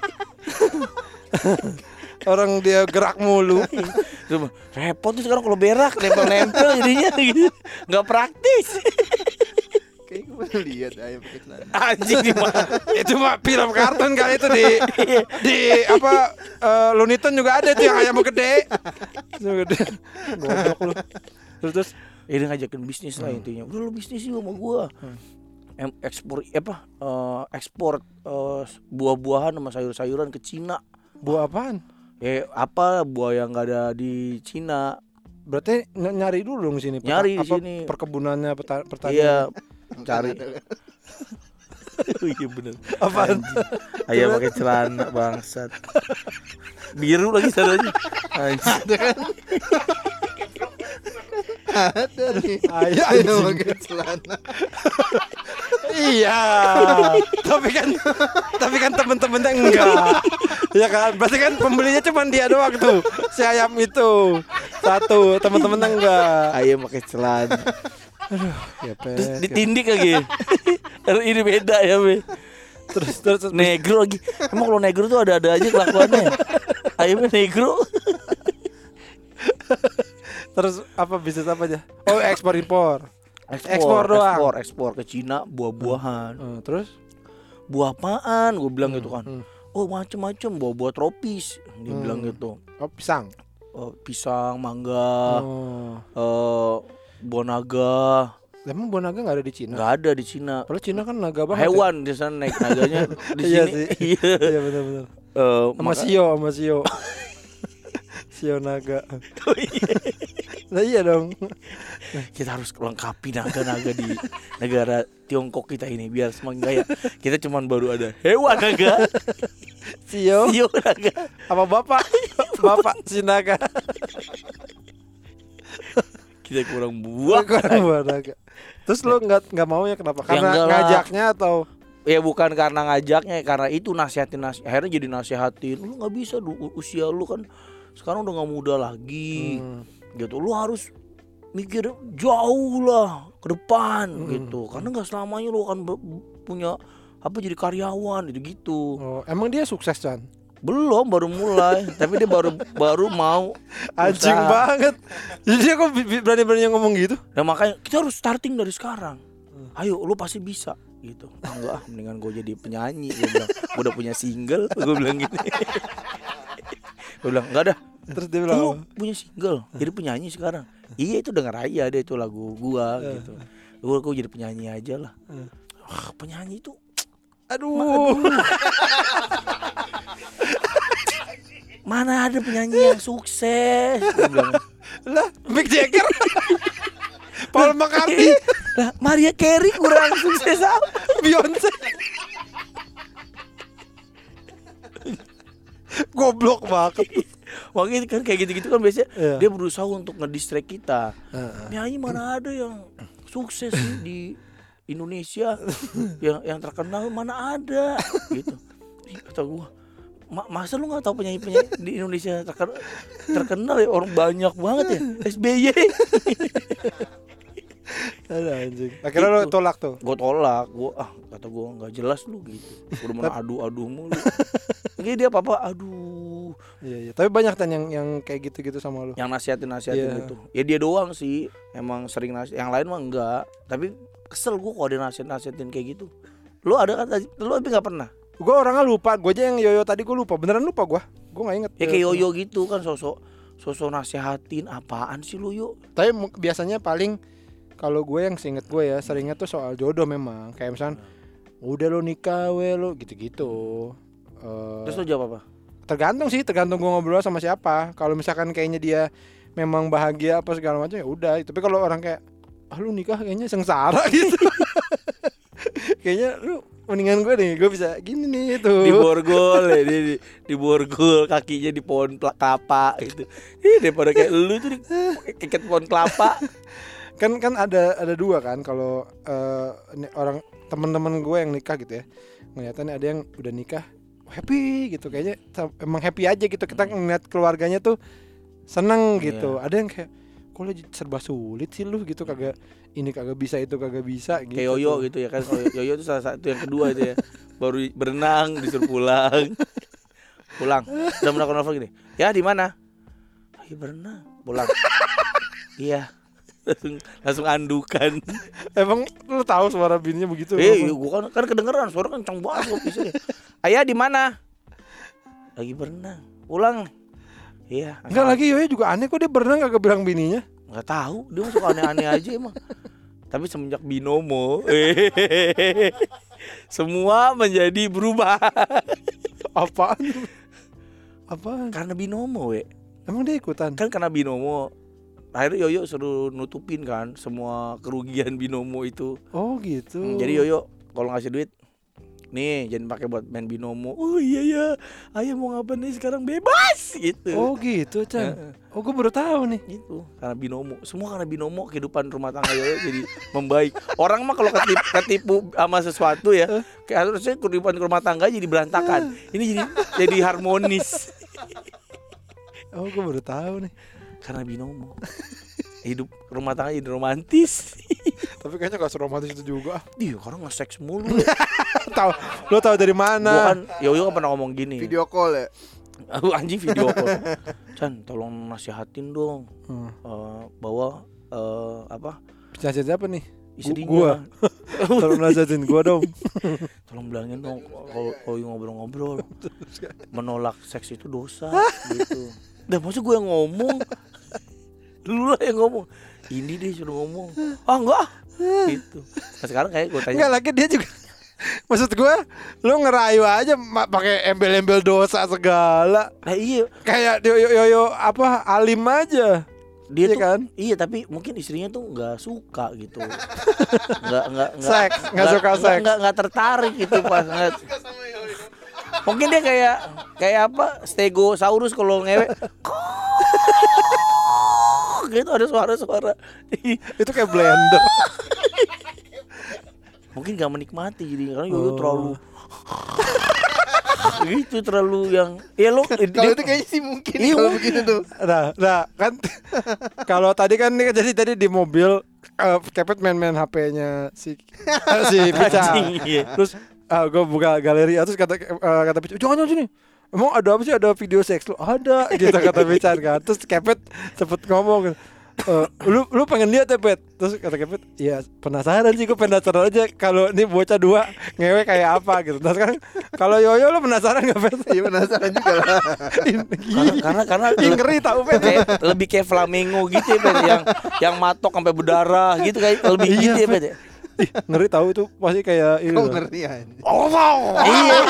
S1: Orang dia gerak mulu.
S3: Tuh, repot tuh sekarang kalau berak nempel-nempel jadinya gitu. Enggak praktis.
S2: Kayak gue pernah lihat ayam pakai celana.
S3: Anjing gimana?
S1: Itu mah film kartun kali itu di di apa eh, Looney Tunes juga ada tuh yang ayam gede. Itu gede. Goblok lu. Terus terus
S3: Ini ngajakin bisnis lah intinya. Udah lu bisnis yuk sama gua. Em, ekspor eh, apa? eh, ekspor eh, buah-buahan sama sayur-sayuran ke Cina.
S1: buah apaan?
S3: Eh apa buah yang enggak ada di Cina?
S1: Berarti ny- nyari dulu dong sini. peta-
S3: Nyari di
S1: apa,
S3: sini.
S1: Perkebunannya peta- pertanian.
S3: Iya, cari. Oh iya bener.
S1: Apaan?
S3: Anjing. Ayam pakai celana bangsat. Biru lagi sadonya. Anjing.
S2: Ada nih.
S1: Ayam
S2: Ayam
S1: anjing.
S2: pakai celana.
S1: Iya. Tapi kan tapi kan temen-temennya enggak. Ya kan? Berarti kan pembelinya cuma dia doang tuh. Si ayam itu. Satu, temen-temennya enggak.
S3: Ayam pakai celana.
S1: Ya,
S3: Terus
S1: Pet.
S3: ditindik lagi. Ini beda ya, Be.
S1: Terus terus, terus
S3: Negro lagi. Emang kalau negro tuh ada-ada aja kelakuannya. Ayamnya negro.
S1: terus apa bisnis apa aja? Oh, ekspor impor. Ekspor doang.
S3: Ekspor, ekspor ke Cina buah-buahan.
S1: Eh, terus
S3: Buah apaan? Gue bilang gitu kan.
S1: hmm.
S3: Oh macem-macem buah-buah tropis. Dia
S1: Hmm.
S3: bilang gitu.
S1: Oh, pisang.
S3: Oh, pisang, mangga,
S1: Oh.
S3: eh buah naga.
S1: Emang buah naga enggak ada di Cina?
S3: Nggak ada di Cina.
S1: Padahal Cina kan naga banget.
S3: Hewan di sana naik naganya di
S1: Iya
S3: sini.
S1: sih.
S3: Iya.
S1: Ya? Iya benar-benar.
S3: Eh,
S1: Sama
S3: maka-
S1: Sio, sama Sio. Sio naga.
S3: Oh, iya.
S1: Nah iya dong.
S3: Kita harus lengkapi naga-naga di negara Tiongkok kita ini biar semakin gaya. Kita cuman baru ada hewan naga,
S1: Sio
S3: sio naga.
S1: apa bapak? Bapak si naga.
S3: Kita kurang buah.
S1: Kurang buah naga. Terus lo nggak nggak mau ya kenapa? Karena
S3: enggak lah.
S1: ngajaknya atau
S3: Ya bukan karena ngajaknya, karena itu nasihatin nasi akhirnya jadi nasihatin. Lu nggak bisa du- usia lu kan sekarang udah nggak muda lagi.
S1: Hmm.
S3: Gitu. Lu harus mikir jauh lah ke depan
S1: Hmm.
S3: gitu. Karena nggak selamanya lu akan be- punya apa jadi karyawan gitu gitu.
S1: Oh, emang dia sukses Chan?
S3: Belum, baru mulai. Tapi dia baru baru mau
S1: Anjing
S3: usaha.
S1: banget. Jadi dia kok bi- bi- berani-berani ngomong gitu?
S3: Nah makanya kita harus starting dari sekarang. Ayo lu pasti bisa gitu. Ah, enggak ah, mendingan gue jadi penyanyi. Gue bilang gue udah punya single. Gue bilang gini. Gue bilang enggak dah.
S1: Terus dia
S3: Lu
S1: bilang
S3: punya single, jadi penyanyi sekarang. Iya itu denger aja deh itu lagu gua gitu. Gue gue jadi penyanyi aja lah. Ah, penyanyi itu
S1: aduh.
S3: mana ada penyanyi yang sukses? Gua bilang,
S1: Lah, Mick Jagger. Paul McCartney,
S3: lah Maria Carey kurang sukses apa?
S1: Beyonce. Goblok banget.
S3: Makanya kan kayak gitu-gitu kan biasanya
S1: Iya.
S3: dia berusaha untuk ngedistract kita.
S1: Heeh.
S3: Penyanyi mana ada yang sukses sih di Indonesia yang yang terkenal mana ada gitu. Ih, kata gua Ma- masa lu nggak tahu penyanyi-penyanyi di Indonesia terkenal, terkenal ya, orang banyak banget ya. S B Y.
S1: Ada anjing. Akhirnya lo
S3: Gitu.
S1: tolak tuh.
S3: Gue tolak, gue ah kata gue nggak jelas lu gitu. Udah mau adu-adu mulu. Jadi dia apa-apa, aduh.
S1: Iya iya. Tapi banyak kan yang yang kayak gitu-gitu sama lo.
S3: Yang nasihatin-nasihatin
S1: Iya.
S3: gitu. Ya dia doang sih, emang sering nasihat. Yang lain mah enggak. Tapi kesel gue kalau dia nasihat-nasihatin kayak gitu. Lu ada kan? Lu tapi nggak pernah.
S1: Gue orangnya lupa. Gue aja yang yoyo tadi gue lupa. Beneran lupa gue. Gue nggak inget.
S3: Ya kayak yoyo gitu kan, sosok sosok nasihatin apaan sih lu yuk.
S1: Tapi mu- biasanya paling kalau gue yang seinget gue ya seringnya tuh soal jodoh memang. Kayak misalnya udah lo nikah we lo gitu-gitu. Eh,
S3: Terus lu jawab apa?
S1: tergantung sih, tergantung gue ngobrol sama siapa. Kalau misalkan kayaknya dia memang bahagia apa segala macam ya udah. Tapi kalau orang kayak ah lu nikah kayaknya sengsara gitu. Kayaknya lu mendingan gue nih, gue bisa gini nih itu.
S3: Di borgol ya, di, di, di borgol kakinya di pohon pla- kelapa gitu. Ih, daripada kayak lu tuh di keket pohon kelapa.
S1: kan kan ada ada dua kan kalau eh, ini orang teman-teman gue yang nikah gitu ya, ngeliatannya ada yang udah nikah happy gitu, kayaknya ta- emang happy aja gitu, kita ngeliat keluarganya tuh seneng gitu. Ada yang kayak kok lu serba sulit sih lu gitu, kagak ini kagak bisa itu kagak bisa gitu.
S3: Kayak yoyo gitu ya kan. Kalau yoyo itu salah satu yang kedua itu ya. Baru berenang disuruh pulang. Pulang. Udah melakukan novel gini. Ya di mana? Lagi berenang. Pulang. Iya. Langsung langsung andukan.
S1: Emang lu tahu suara bininya begitu?
S3: Eh, iya, gua kan kan kedengeran suara kencang banget gua bisa. Ayah di mana? Lagi berenang. Pulang. Iya.
S1: Enggak lagi Yoyo juga aneh kok dia berenang kagak bilang bininya.
S3: Enggak tahu, dia masuk aneh-aneh aja emang. Tapi semenjak binomo, semua menjadi berubah.
S1: Apaan? Apaan?
S3: Karena binomo, we.
S1: Emang dia ikutan?
S3: Kan karena binomo. Akhirnya Yoyo suruh nutupin kan semua kerugian binomo itu.
S1: Oh gitu.
S3: Hmm, jadi Yoyo kalau ngasih duit, nih jangan pakai buat main binomo. Oh iya ya, ayah mau ngapain nih sekarang bebas gitu.
S1: Oh gitu Chan. Oh gue baru tahu nih.
S3: Gitu karena binomo, semua karena binomo kehidupan rumah tangga Yoyo jadi membaik. Orang mah kalau ketipu, ketipu sama sesuatu ya, kayak harusnya kehidupan rumah tangga jadi berantakan. Ini jadi jadi harmonis
S1: Oh gue baru tahu nih.
S3: karena binomo. Hidup rumah tangga jadi romantis.
S1: Tapi kayaknya gak seromantis itu juga.
S3: Iya, karena nge-seks mulu.
S1: Tahu? Lo tahu dari mana?
S3: Gua kan Yoyo kan pernah ngomong gini.
S2: Video call ya.
S3: Aku anjing video call. Chan, tolong nasihatin dong.
S1: Hmm.
S3: Eh, bahwa eh, apa?
S1: Nasihat siapa nih?
S3: Istrinya.
S1: Gua. Tolong nasihatin gua dong.
S3: Tolong bilangin dong kalau kalau ngobrol-ngobrol menolak seks itu dosa gitu. Dah maksud gue yang ngomong. Lu lah yang ngomong. Ini deh suruh ngomong. Ah enggak. Gitu. Nah sekarang kayak gue tanya.
S1: Enggak lagi dia juga. Maksud gua lu ngerayu aja ma- pakai embel-embel dosa segala.
S3: Nah iya.
S1: Kayak yoyo yoyo apa alim aja.
S3: Dia
S1: Iya
S3: tuh
S1: kan?
S3: iya tapi mungkin istrinya tuh nggak suka gitu. Nggak nggak nggak
S1: Seks, nggak suka
S3: nggak-
S1: seks.
S3: nggak nggak tertarik gitu pas ngeliat. Mungkin dia kayak kayak apa stegosaurus kalau ngewe. Gitu ada suara-suara.
S1: Itu kayak blender.
S3: Mungkin nggak menikmati jadi karena Yoyo
S1: Oh.
S3: terlalu gitu terlalu yang ya lo
S2: Kalau itu kayaknya sih mungkin
S3: Iya,
S2: kalau
S3: mungkin.
S2: begitu tuh.
S1: Nah, nah kan kalau tadi kan nih jadi tadi di mobil uh, Kepet main-main H P-nya si uh, si Pica.
S3: Anjing, iya.
S1: Terus uh, gue buka galeri terus kata uh, kata Pica, "Jangan jangan sini. Emang ada apa sih? Ada video seks lu?" "Ada." Gitu kata Pica kan. Terus Kepet cepet ngomong, "Eh, lu lu pengen lihat ya, Pet?" Terus kata Kepet, "Iya, penasaran sih, gue penasaran aja kalau ini bocah dua ngewe kayak apa gitu." Nah sekarang kalau Yoyo lu penasaran enggak, Pet?
S2: Iya penasaran juga lah.
S3: karena karena karena
S1: Ih, ngeri tau, Pet.
S3: kayak, lebih kayak flamingo gitu ya, Pet, yang yang matok sampai berdarah gitu kayak lebih
S1: Iya,
S3: gitu ya,
S1: Pet.
S3: Pet. ya.
S1: Ih, ngeri tahu itu pasti kayak ini.
S2: Kau
S1: loh.
S2: ngerti anjing.
S1: Oh, wow.
S3: Iya.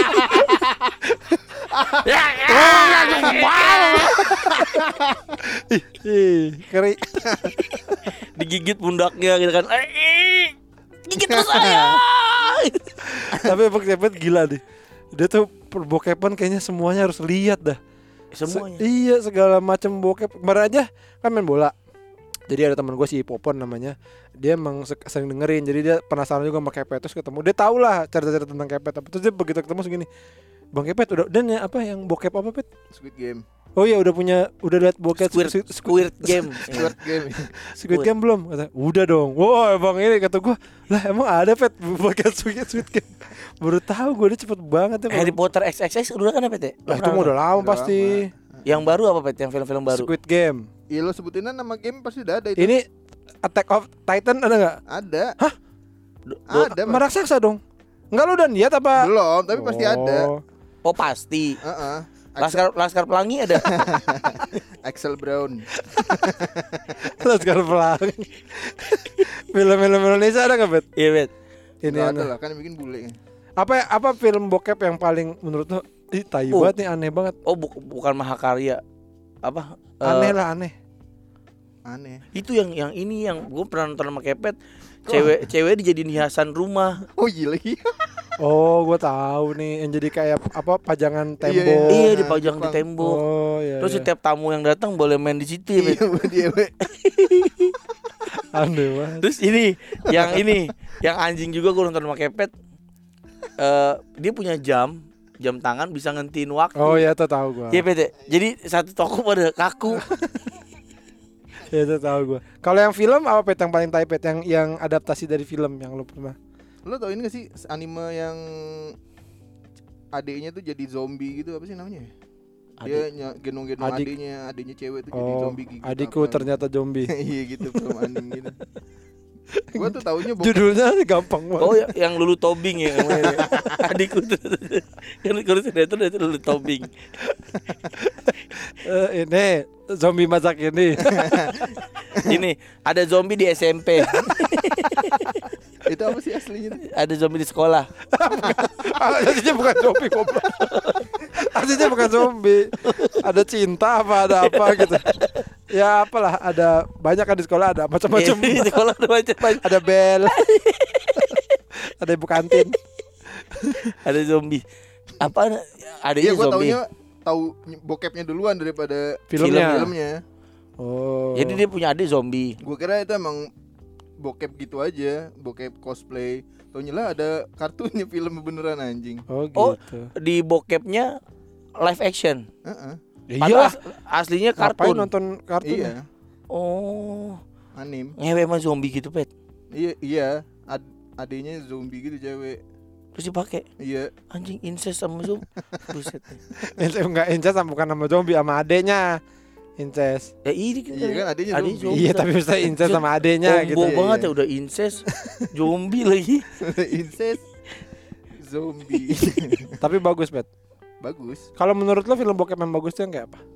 S1: Ih, ih, ngeri.
S3: Digigit pundaknya gitu kan. Eh, gigit terus saya.
S1: Tapi emang Kepet gila deh. Dia tuh perbokepan kayaknya semuanya harus lihat dah.
S3: Semuanya.
S1: Se- iya, segala macam bokep. Kemarin aja kan main bola. Jadi ada teman gue si Popon namanya. Dia emang se- sering dengerin. Jadi dia penasaran juga sama Kepet. Terus ketemu. Dia tahu lah cerita-cerita tentang Kepet. Terus dia begitu ketemu segini. Bang Kepet udah dan ya apa yang bokep apa Pet?
S2: Squid Game.
S1: Oh iya udah punya udah lihat bokep
S3: Squid,
S1: Squid,
S3: Squid Game.
S2: Squid Game.
S1: Squid Game belum? Kata, udah dong. Wah, Bang ini kata gua, lah emang ada Pet bokep Squid, Squid Game. Baru tahu gua dia cepet banget ya.
S3: Harry Potter X X X udah kan apa Pet?
S1: Lah itu mah udah lama
S2: Udah
S1: pasti.
S3: Yang baru apa Pet? Yang film-film baru.
S1: Squid Game.
S2: Iya lo sebutin nama game pasti udah ada itu.
S1: Ini Attack of Titan ada nggak?
S2: Ada.
S1: Hah?
S3: Do- do-
S2: Ada. Mas.
S1: Meraksasa dong. Enggak lu udah niat apa?
S2: Belum, tapi pasti ada.
S3: Oh pasti.
S2: Heeh.
S3: Laskar Laskar Pelangi ada.
S2: Axel Brown.
S1: Laskar Pelangi. Film-film Indonesia ada nggak Bet?
S3: Iya Bet.
S1: Ini
S2: Nggak ada
S1: aneh.
S2: lah kan yang bikin bule.
S1: Apa apa film bokep yang paling menurut lu ih tai
S3: Oh.
S1: banget nih, aneh banget.
S3: Oh bu- bukan Mahakarya. Apa? Eh,
S1: Aneh lah aneh.
S2: Aneh.
S3: Itu yang yang ini yang gue pernah nonton sama Kepet. Cewek cewek dijadiin hiasan rumah.
S2: Oh iya lagi.
S1: Oh, gua tahu nih yang jadi kayak apa pajangan tembok.
S2: Iya,
S3: Iya
S2: Nah,
S3: dipajang di
S2: Jepang.
S3: tembok.
S1: Oh iya.
S3: Terus
S1: iya.
S3: setiap tamu yang datang boleh main di situ ya, Bet.
S2: Iya dia we.
S1: Aneh banget.
S3: Terus ini yang ini yang anjing juga gue nonton sama Kepet. Eh dia punya jam jam tangan bisa ngentiin waktu.
S1: Oh iya, tuh tahu gua.
S3: Iya Pet. Jadi satu toko pada kaku.
S1: Iya, tuh tahu gua. Kalau yang film apa Pet yang paling tai Pet yang yang adaptasi dari film yang lu pernah?
S2: Lo tau ini gak sih anime yang adiknya tuh jadi zombie gitu, apa sih namanya? Dia ny- gendong-gendong
S1: Adik.
S2: adiknya, adiknya cewek tuh jadi
S1: Oh,
S2: zombie gigit.
S1: adikku
S2: apa.
S1: ternyata zombie.
S2: Iya gitu film anime gitu. Gua tuh taunya bokep.
S1: Judulnya gampang banget.
S3: Oh ya, yang Lulu Tobing ya namanya. Adikku tuh. Kan kalau sudah itu itu Lulu Tobing.
S1: Eh, ini zombie masak ini.
S3: Ini ada zombie di S M P.
S2: Itu apa sih aslinya tuh?
S3: Ada zombie di sekolah.
S1: Aslinya bukan zombie goblok. Aslinya bukan zombie. Ada cinta apa ada apa gitu. Ya apalah, ada banyak kan di sekolah, ada macam-macam.
S3: Di sekolah ada macam-macam.
S1: Ada bel. Ada ibu kantin.
S3: Ada zombie. Apa adanya
S2: Iya gua
S3: zombie?
S2: taunya tahu bokepnya duluan daripada
S1: Filmnya.
S2: filmnya.
S1: Oh.
S3: Jadi dia punya adik zombie.
S2: Gua kira itu emang bokep gitu aja, bokep cosplay. Taunya lah ada kartunnya film beneran anjing.
S1: Oh
S3: Oh,
S1: gitu.
S3: di bokepnya live action.
S2: Heeh.
S3: Padahal
S1: Iya.
S3: as- aslinya
S1: Ngapain
S3: kartun.
S1: nonton kartun?
S2: Iya,
S3: Oh,
S2: anim.
S3: ngewe sama zombie gitu, Pet.
S2: Iya, iya. Ad- adenya zombie gitu cewek.
S3: Terus dipakai
S2: Iya.
S3: anjing incest sama zombie. Buset.
S1: Incest enggak incest sama bukan sama zombie, sama adenya. Incest.
S3: Ya ini kan.
S2: Iya kan adenya
S3: Adik
S2: zombie.
S1: Iya, tapi bisa incest sama adenya
S3: Combo
S1: gitu.
S2: Iya,
S3: banget
S2: iya.
S3: ya udah incest, zombie lagi.
S2: Incest zombie.
S1: Tapi bagus, Pet.
S2: Bagus.
S1: Kalau menurut lo film bokep yang bagus tuh yang kayak apa?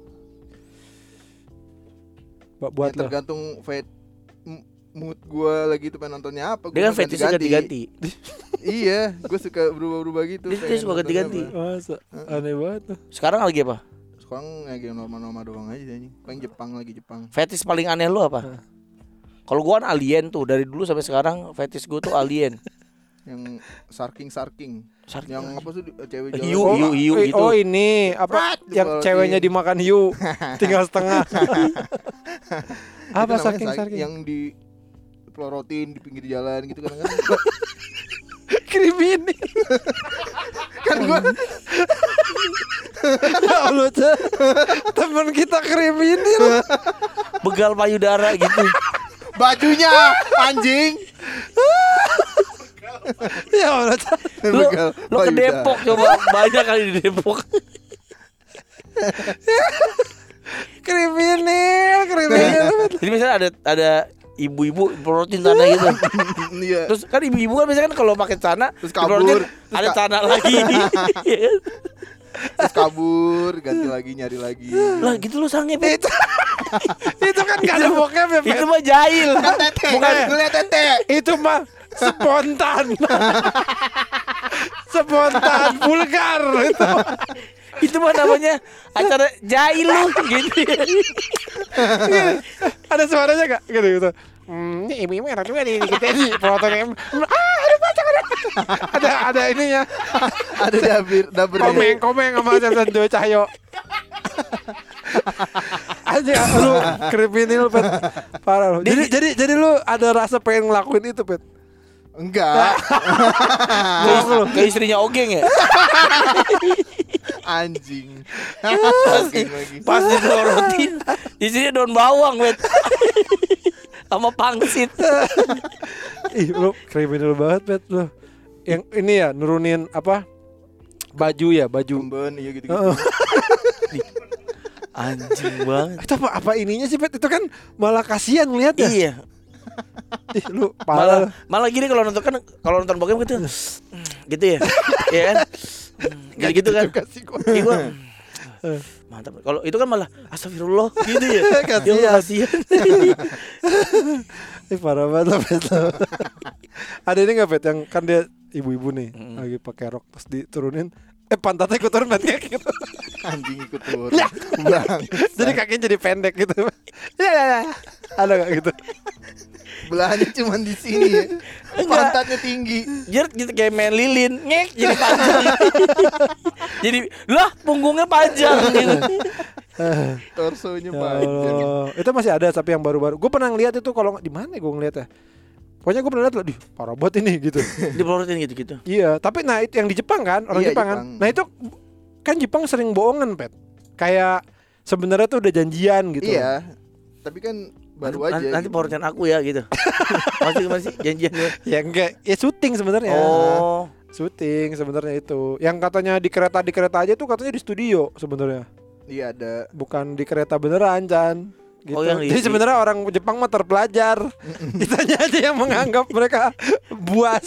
S1: Ba- Buat
S2: Ya,
S1: lo.
S2: tergantung fet m- mood gua lagi tuh pengen nontonnya apa.
S3: Dia kan
S2: Gua
S3: fetishnya ganti-ganti.
S2: Iya, gua suka berubah-berubah gitu.
S3: Dia- dia
S2: pengen
S3: suka
S2: nontonnya
S3: ganti-ganti.
S2: apa.
S1: Masa? Aneh banget tuh.
S3: Sekarang lagi apa?
S2: Sekarang lagi normal-normal doang aja anjing. Paling Jepang lagi Jepang.
S3: Fetish paling aneh lu apa? Kalau gua kan alien tuh dari dulu sampai sekarang fetish gua tuh alien.
S2: Yang sarking-sarking.
S3: Sarking
S2: Yang
S3: anjing.
S2: apa sih cewek
S3: Hiu,
S2: jalan.
S3: hiu, hiu
S1: oh,
S3: gitu.
S1: oh ini apa
S2: Prat,
S1: yang
S2: dibalotin.
S1: ceweknya dimakan hiu tinggal setengah.
S2: Itu
S1: Apa
S2: namanya
S1: saking
S2: sarking.
S1: saking?
S2: Yang di pelorotin di pinggir jalan gitu kan kan.
S1: Kriminal.
S2: Kan gua
S1: Ya Allah, Ca. Teman kita kriminal.
S3: Begal payudara gitu.
S2: bajunya anjing.
S1: Ya Allah, Ca.
S3: Lu,
S2: Begal
S3: lu ke
S2: payudara.
S3: Depok coba, banyak kali di Depok.
S1: Kriminal, kriminal.
S3: Jadi misalnya ada ada ibu-ibu pelorotin tanah gitu.
S2: Iya.
S3: Terus kan ibu-ibu kan biasanya kan kalau pakai celana
S2: Terus kabur.
S3: dipelorotin,
S2: Terus
S3: ada
S2: ka-
S3: celana lagi. Iya kan?
S2: Terus kabur, ganti lagi nyari lagi.
S3: Lah gitu lu sange, Pet.
S1: Itu, itu kan gak ada bokep ya, Pet.
S3: Itu mah jahil.
S2: Tete,
S1: Bukan.
S2: ngeliat tete.
S1: Itu mah spontan. Spontan, vulgar itu.
S3: Itu mah namanya acara jahil lu gitu.
S1: Ada suaranya gak? Gitu gitu. Hmm, ini ibu-ibu enak juga nih kita di fotonya. Ah, ada pacar ada. Ada ada ininya.
S2: Ada dabir, dabir.
S1: Komeng komeng sama Sansan Joy Cahyo. Aja lu kriminal, Pet. Parah lu. Jadi jadi jadi lu ada rasa pengen ngelakuin itu, Pet.
S2: Enggak.
S3: Ke, ke istrinya Ogeng ya.
S2: Anjing.
S3: Pasti pas ditelorotin isinya daun bawang, wet. Sama pangsit.
S1: Ih, lu kriminal banget, Bet lu. Yang ini ya nurunin apa? Baju ya, baju.
S2: Kemben iya gitu-gitu.
S1: Heeh.
S3: Anjing banget.
S1: Itu apa apa ininya sih, Bet? Itu kan malah kasihan ngeliatnya.
S3: Iya.
S1: Ih, lu
S3: Malah
S1: parah.
S3: malah gini kalau nonton kan kalau nonton bokep gitu. Gitu ya. Iya kan? Gitu gitu kan.
S2: Kasih gua.
S3: Ih, gua mantap. Kalau itu kan malah astagfirullah gitu ya.
S1: Kasihan.
S3: Ya Allah, kasihan.
S1: Ih, parah banget lah, Bet. Ada ini enggak, Bet, yang kan dia ibu-ibu nih
S3: Mm.
S1: lagi pakai rok terus diturunin eh pantatnya ikut turun, Bet, kayak gitu.
S2: Anjing ikut turun. Bang.
S1: Jadi kakinya jadi pendek gitu. Ya ya ya. Ada enggak gitu?
S2: Belahnya cuma di sini ya. Pantatnya tinggi.
S3: Jert gitu kayak main lilin, ngek jadi panjang. Jadi lah punggungnya panjang gitu.
S2: Torsonya
S1: Ya
S2: panjang.
S1: Allah. Itu masih ada tapi yang baru-baru. Gue pernah ngeliat itu kalau di mana gue ngeliatnya. Pokoknya gue pernah lihat loh, di parah banget ini gitu.
S3: Dipelorotin gitu-gitu.
S1: Iya, tapi nah itu yang di Jepang kan, orang
S2: Iya,
S1: Jepang, kan.
S2: Jepang.
S1: Nah itu kan Jepang sering bohongan, Pet. Kayak sebenarnya tuh udah janjian gitu.
S2: Iya. Tapi kan baru
S3: nanti,
S2: aja.
S3: Nanti
S2: gitu.
S3: pelorotin aku ya gitu. Masih masih janjian gue.
S1: Ya enggak, ya syuting sebenarnya.
S3: Oh.
S1: Syuting sebenarnya itu. Yang katanya di kereta di kereta aja tuh katanya di studio sebenarnya.
S2: Iya ada.
S1: Bukan di kereta beneran, Chan. Gitu.
S3: Oh, yang di-
S1: Jadi sebenarnya orang Jepang mah terpelajar. Ditanya aja yang menganggap mereka buas.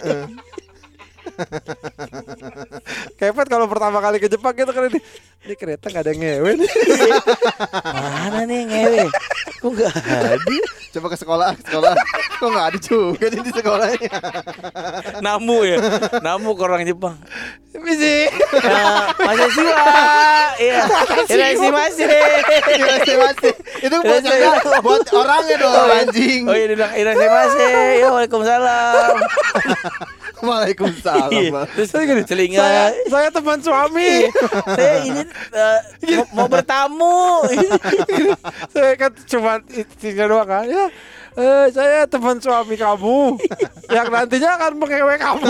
S1: Kayak Pet kalau pertama kali ke Jepang gitu kan ini, ini kereta nggak ada yang ngewe nih.
S3: Mana nih yang ngewe? Kok enggak ada?
S2: Coba ke sekolah, ke sekolah. Kok nggak ada juga nih di sekolahnya.
S3: Namu ya. Namu ke orang Jepang.
S1: Misi.
S3: Nah, masih sih Pak. Iya. Masih masih.
S2: Masih masih. Itu bocahnya buat orangnya dong anjing.
S3: Oh iya dia bilang irase masih. Ya Waalaikumsalam.
S2: Waalaikumsalam.
S3: Iya.
S2: Bang.
S3: Terus
S1: Saya gini,
S3: selingan.
S1: saya, saya teman suami.
S3: Saya ini eh, mau, mau bertamu.
S1: Saya kan cuma istrinya doang kan. Ya, eh, saya teman suami kamu yang nantinya akan mengewe kamu.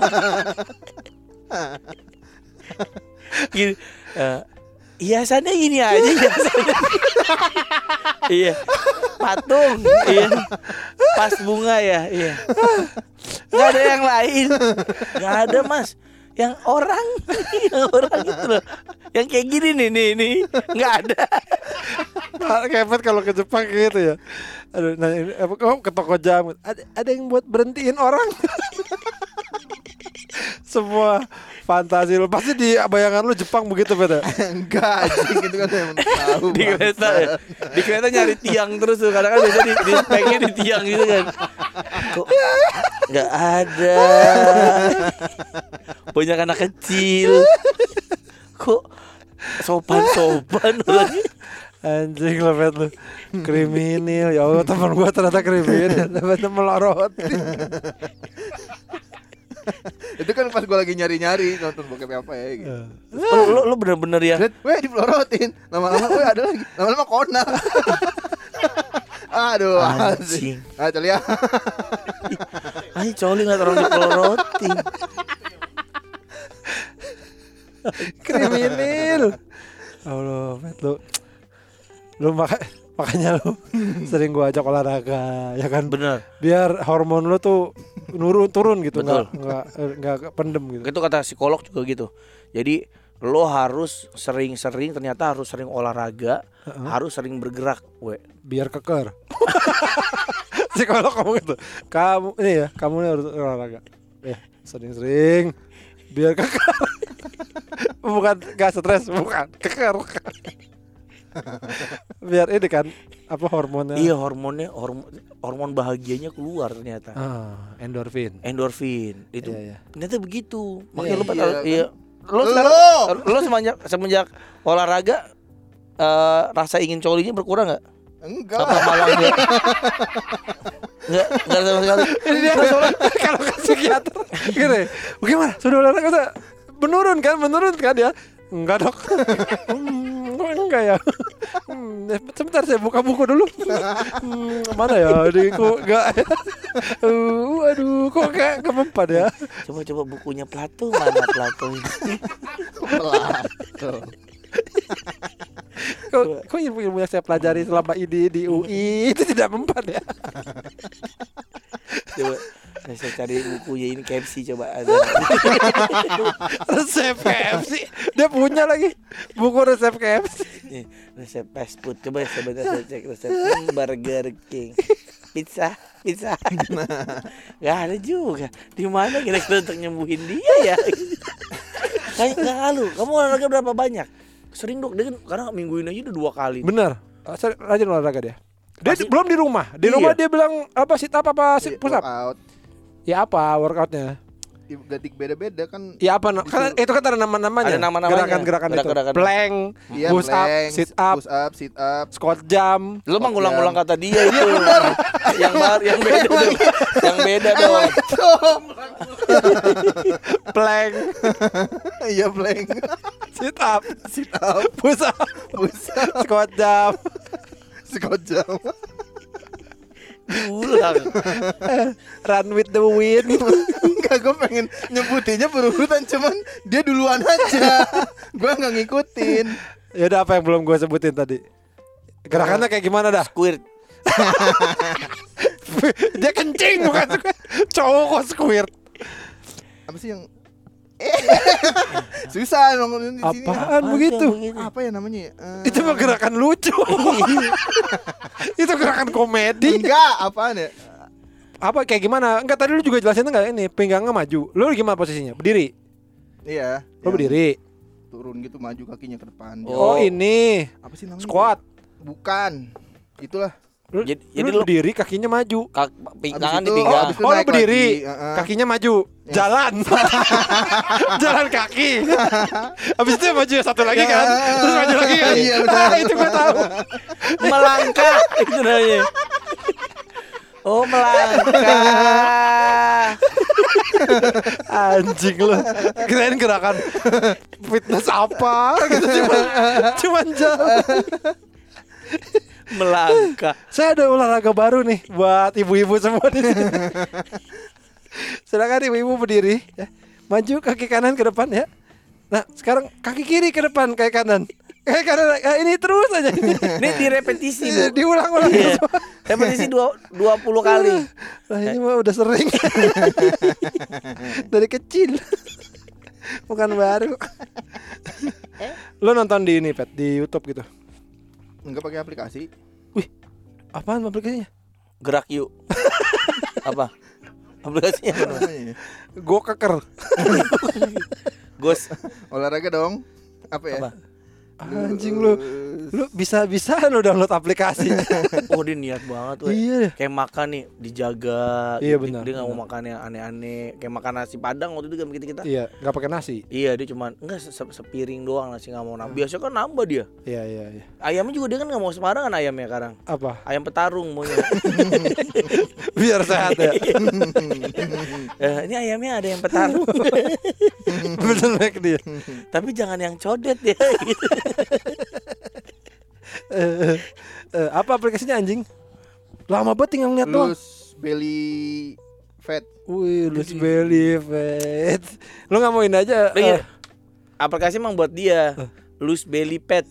S3: Gini, eh, hiasannya gini aja hiasannya. Iya. Patung. Iya. Pas bunga ya. Iya. Gak ada yang lain. Gak ada Mas. Yang orang, yang orang itu loh. Yang kayak gini nih nih nih. Gak ada.
S1: Kayak Pet kalau ke Jepang kayak gitu ya. Aduh, nah ini apa kok ke toko jamu. Ada ada yang buat berhentiin orang. Semua fantasi lu pasti di bayangan lu Jepang begitu, Pet.
S2: Enggak anjing itu kan yang tahu.
S3: Di
S2: Bang.
S3: kereta ya. Di kereta nyari tiang terus tuh. Kadang kan biasa di, di speknya di tiang gitu kan. Kok gak ada. Banyak anak kecil. Kok sopan-sopan orangnya.
S1: Anjing lah, Pet lu. Kriminal. Ya Allah, teman gua ternyata kriminal. Ternyata melorot.
S2: Itu kan pas gue lagi nyari-nyari nonton bokep apa ya gitu.
S3: Lu, lu, lu bener-bener ya.
S2: Lihat, weh dipelorotin. Lama-lama weh ada lagi. Lama-lama Conan. Aduh,
S3: Anjing.
S2: Ah, coli ya.
S3: Ay, coli ngeliat orang dipelorotin.
S1: Kriminal. Allah, Pet lu. Lu maka, makanya lu sering gua ajak olahraga, ya kan?
S3: Bener.
S1: Biar hormon lu tuh nurun turun gitu,
S3: Betul.
S1: nggak nggak nggak pendem gitu.
S3: Itu kata psikolog juga gitu. Jadi lo harus sering-sering ternyata harus sering olahraga,
S1: Uh-huh.
S3: harus sering bergerak, we.
S1: Biar keker. Psikolog ngomong gitu. Kamu ini ya, kamu ini harus olahraga. Ya, sering-sering biar keker. Bukan gak stres, bukan keker. Biar ini kan apa hormonnya?
S3: Iya hormonnya hormon hormon bahagianya keluar ternyata.
S1: Ah, endorfin.
S3: Endorfin itu
S1: Iya, iya.
S3: ternyata begitu. Makanya
S1: Iya,
S3: lu pada
S2: iya,
S3: iya. Lo
S2: Lo.
S3: sekarang lo semenjak semenjak olahraga eh, rasa ingin colinya berkurang nggak?
S2: Enggak.
S3: Apa malah enggak? Enggak, enggak sama sekali.
S1: Ini dia kalau ke psikiater gini, bagaimana? Sudah olahraga udah menurun kan? Menurun kan ya? Enggak, Dok. Hmm, Kok enggak ya? Hmm, sebentar saya buka buku dulu. Hmm, mana ya? Aduh, kok enggak. Uh, aduh, kok enggak kemempat ya?
S3: Coba-coba bukunya Plato, mana Plato ini?
S2: Plato.
S1: Kok, kok ilmu-ilmu yang saya pelajari selama ini di U I itu tidak mempan ya?
S3: Coba saya cari bukunya ini K F C coba ada.
S1: Resep K F C. Dia punya lagi buku resep K F C.
S3: Nih, resep fast food. Coba saya baca saya cek resep hmm, Burger King. Pizza, pizza. Gak ada juga. Di mana kira-kira untuk nyembuhin dia ya? Kayak enggak lalu. Kamu olahraga berapa banyak? Sering dok, dia kan karena minggu ini aja udah dua kali.
S1: Bener. Rajin olahraga dia. Dia
S3: Pasti-
S1: belum di rumah. Di
S3: Iya.
S1: rumah dia bilang apa sit up apa sit push up?
S2: Workout.
S1: Ya apa workoutnya?
S2: Ganti beda-beda kan.
S1: Ya apa? Kan itu kan ada nama-namanya.
S3: Ada nama-namanya.
S1: Gerakan-gerakan itu.
S3: Gerakan-gerakan.
S1: Plank,
S2: Iya,
S1: push up,
S2: plank,
S1: sit up,
S2: push up, sit up.
S1: squat jump.
S3: Lu mah
S2: Oh,
S3: ngulang-ngulang
S2: yang-
S3: kata dia itu. yang bar, yang beda dong. Yang beda dong.
S1: Plank,
S2: Iya, plank.
S1: sit up,
S2: Sit up,
S1: push up,
S2: push up,
S1: squat jump.
S2: squat jump.
S3: Diulang.
S1: Run with the wind.
S2: Enggak, gue pengen nyebutinnya berurutan, cuman dia duluan aja. Gue nggak ngikutin.
S1: Ya udah, apa yang belum gue sebutin tadi? Gerakannya kayak gimana dah?
S3: Squirt.
S1: Dia kencing bukan squirt. Cowok kok squirt.
S2: Apa sih yang susah ngomongin di sini.
S1: Apaan begitu?
S2: Apa ya namanya? ya? Eh,
S1: Itu mah gerakan lucu. Itu gerakan komedi.
S2: Enggak, apaan ya?
S1: Apa kayak gimana? Enggak, tadi lu juga jelasin enggak ini pinggangnya maju. Lu gimana posisinya? Berdiri.
S2: Iya.
S1: Lu
S2: yang
S1: berdiri.
S2: Turun gitu, maju kakinya ke depan.
S1: Oh,
S3: Oh.
S1: ini
S2: Apa sih namanya?
S1: squat.
S2: Bukan. Itulah.
S1: Lu,
S3: Jadi-
S1: lu
S3: jadi lu-
S1: berdiri, kakinya maju.
S3: Kak, pinggangan
S2: Abis
S3: di
S2: itu-
S3: pinggang.
S2: abis itu
S1: Oh, lu
S2: naik
S1: berdiri,
S2: lagi, uh-uh.
S1: kakinya maju, jalan, jalan kaki. Habis itu maju satu lagi kan, terus maju lagi kan.
S2: Iya, benar.
S1: Ah, itu gua tahu.
S3: Melangkah itu namanya. Oh, melangkah.
S1: Anjing lu. Kirain gerakan fitness apa gitu, cuma cuman jalan.
S3: Melangkah.
S1: Saya ada olahraga baru nih buat ibu-ibu semua di sini. Silakan ibu-ibu berdiri ya. Maju kaki kanan ke depan ya. Nah, sekarang kaki kiri ke depan kayak kanan. Kayak kanan ya, ini terus aja ini.
S3: Ini direpetisi, Bu.
S1: Diulang-ulang.
S3: Iya. Repetisi dua, dua puluh kali.
S1: Nah, ini mah udah sering. Dari kecil. Bukan baru. Lo nonton di ini, Pet, di YouTube gitu.
S2: Enggak pakai aplikasi.
S1: Apaan aplikasinya?
S3: Gerak yuk. Apa? Aplikasinya apa namanya?
S2: Namanya.
S1: Go keker.
S3: Ghost.
S2: Olahraga dong. Apa ya?
S3: Apa?
S1: Anjing lu. Lu bisa-bisa lu download aplikasi.
S3: Oh, dia niat banget, we.
S1: Iya.
S3: Kayak makan nih, dijaga.
S1: Iya,
S3: gitu.
S1: benar,
S3: Dia nggak mau
S1: benar.
S3: makan yang aneh-aneh. Kayak makan nasi padang waktu itu kan kita kita.
S1: Iya, enggak pakai nasi.
S3: Iya, dia cuman enggak se- se- sepiring doang nasi, nggak mau nambah. Biasa kan nambah dia.
S1: Iya, iya, iya.
S3: Ayamnya juga dia kan nggak mau sembarangan ayamnya sekarang.
S1: Apa?
S3: Ayam petarung maunya.
S1: Biar sehat ya.
S3: Eh, ini ayamnya ada yang petarung.
S1: Betul baik dia.
S3: Tapi jangan yang codet ya. Gitu.
S1: Eh, eh, apa aplikasinya anjing? Lama banget tinggal ngeliat doang.
S2: Lose belly fat.
S1: Wih, loose belly fat. Lu nggak mau ini aja?
S3: Oh, iya.
S1: eh,
S3: Aplikasi emang buat dia. Loose belly pet.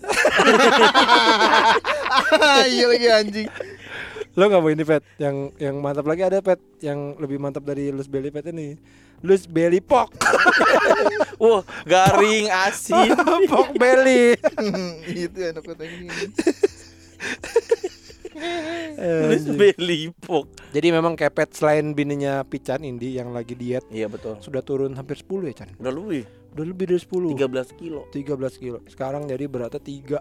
S2: Iya lagi anjing.
S1: Lo nggak mau ini Pet? Yang yang mantap lagi ada Pet, yang lebih mantap dari loose belly fat ini. Loose belly pork.
S3: Wah, garing asin.
S1: Pork belly.
S2: Itu enak kata ini.
S1: Eh,
S3: Loose belly pork.
S1: Jadi memang kepet selain bininya Pican Indi yang lagi diet
S3: Iya betul.
S1: sudah turun hampir sepuluh ya Chan.
S3: Udah lebih
S1: Udah lebih dari sepuluh.
S3: tiga belas kilo.
S1: tiga belas kilo. Sekarang jadi beratnya tiga.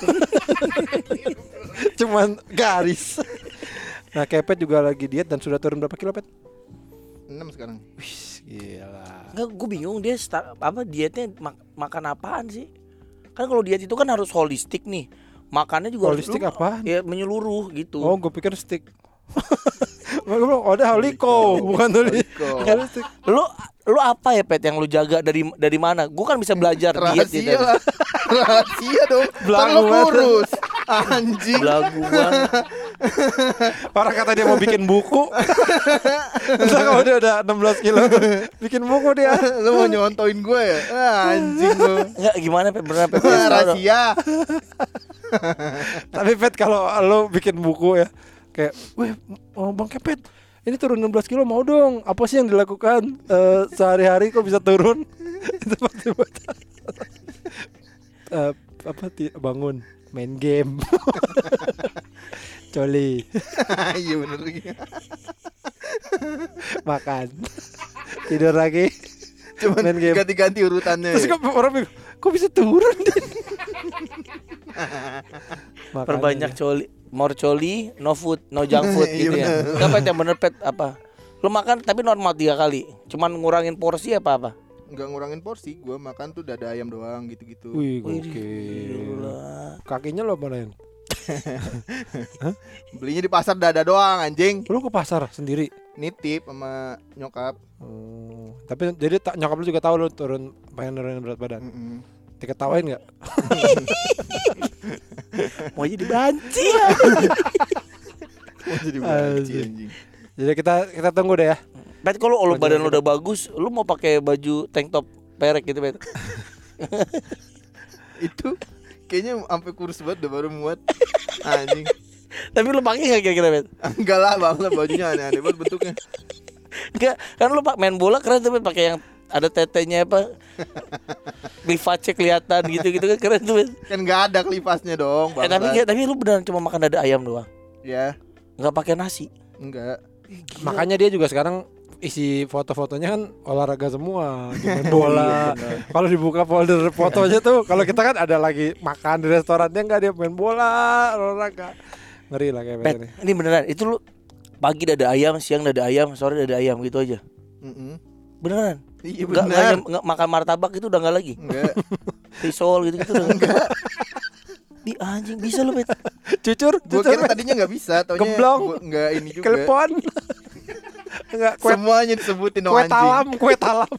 S1: Cuman garis. Nah, Kepet juga lagi diet dan sudah turun berapa kilo, Pet?
S2: enam sekarang.
S1: Wih, gila.
S3: Enggak, gue bingung dia start, apa dietnya mak- makan apaan sih? Kan kalau diet itu kan harus holistik nih. Makannya juga
S1: Holistik
S3: harus,
S1: apaan?
S3: Ya menyeluruh gitu.
S1: Oh, gue pikir stick. Gue bilang, oh, ada holiko, bukan tuh.
S2: Holiko.
S1: Holistik.
S3: Lu Lu apa ya Pet yang lu jaga dari dari mana? Gue kan bisa belajar diet
S2: Rahasia
S3: gitu.
S2: lah. Rahasia dong. Kan
S1: Belagu
S2: lo
S1: banget.
S2: kurus. Anjing.
S3: Belagu banget.
S1: Orang kata dia mau bikin buku. Entah kalau dia udah enam belas kilo bikin buku dia.
S2: Lo mau nyontoin gue ya? Ah, anjing lo.
S3: Enggak gimana Pet beneran Pet? Kasih tahu dong.
S2: Rahasia.
S1: Tapi Pet kalau lo bikin buku ya kayak, weh, oh Bang Kepet, ini turun enam belas kilo mau dong. Apa sih yang dilakukan eh, sehari-hari kok bisa turun? Itu pasti buat Eh, apa ti- bangun, main game. Coli,
S2: Iya bener.
S1: makan, tidur lagi.
S2: Cuman
S1: Main game.
S2: ganti-ganti urutannya.
S1: Terus
S2: ya.
S1: kok orang bingung, kok bisa turun Din? Makanya
S3: Perbanyak
S1: dia.
S3: coli, more coli, no food, no junk food
S2: Iya,
S3: gitu ya.
S2: bener.
S3: Enggak Pet yang bener Pet apa? Lu makan tapi normal tiga kali. Cuman ngurangin porsi apa apa?
S2: Nggak ngurangin porsi, gue makan tuh dada ayam doang gitu-gitu.
S1: Wih,
S3: Wih,
S1: gokil.
S3: gila.
S1: Kakinya lo manain?
S2: Belinya di pasar dada doang anjing.
S1: Lo ke pasar sendiri?
S2: Nitip sama nyokap.
S1: Oh, tapi jadi tak nyokap lu juga tahu lu turun pengen nurunin berat badan.
S2: Mm-mm.
S1: Diketawain nggak?
S3: Mau jadi banci ya.
S2: Mau jadi banci
S1: Anjing.
S2: anjing.
S1: Jadi kita kita tunggu deh ya.
S3: Pet kalau lu
S1: Wajar
S3: badan lu
S1: kita.
S3: udah bagus, lu mau pakai baju tank top perek gitu Pet.
S2: Itu kayaknya sampai kurus banget udah baru muat. Anjing.
S3: Tapi lu pakai enggak kira-kira Pet?
S2: Enggak lah bang lah bajunya aneh-aneh banget bentuknya.
S3: Enggak, kan lu pak main bola keren tuh Pet, pakai yang ada tetenya apa? Clivage kelihatan gitu-gitu kan keren tuh Pet.
S2: Kan nggak ada klipasnya dong.
S3: Eh, tapi
S2: bangsat.
S3: enggak, tapi lu beneran cuma makan dada ayam doang.
S2: Ya
S3: Enggak pakai nasi.
S2: enggak.
S1: Makanya dia juga sekarang isi foto-fotonya kan olahraga semua, main bola. Kalau dibuka folder fotonya tuh, kalau kita kan ada lagi makan di restoran, dia nggak, dia main bola, olahraga. Ngeri lah kayak
S3: Pet,
S1: ini.
S3: ini beneran itu lu pagi dada ayam, siang dada ayam, sore dada ayam gitu aja.
S2: Mm-mm.
S3: Beneran?
S2: Iya
S3: Enggak
S2: benar.
S3: enggak makan martabak itu udah enggak lagi.
S2: Enggak.
S3: Risol gitu-gitu udah enggak. Di anjing bisa lu Pet.
S1: Cucur,
S2: Gue
S1: cucur,
S2: kira tadinya nggak bisa, taunya
S1: Gemblong.
S2: gua- nggak ini juga.
S1: telepon. Enggak, kue,
S2: Semuanya disebutin dong
S1: kue
S2: anjing.
S1: talam, kue talam.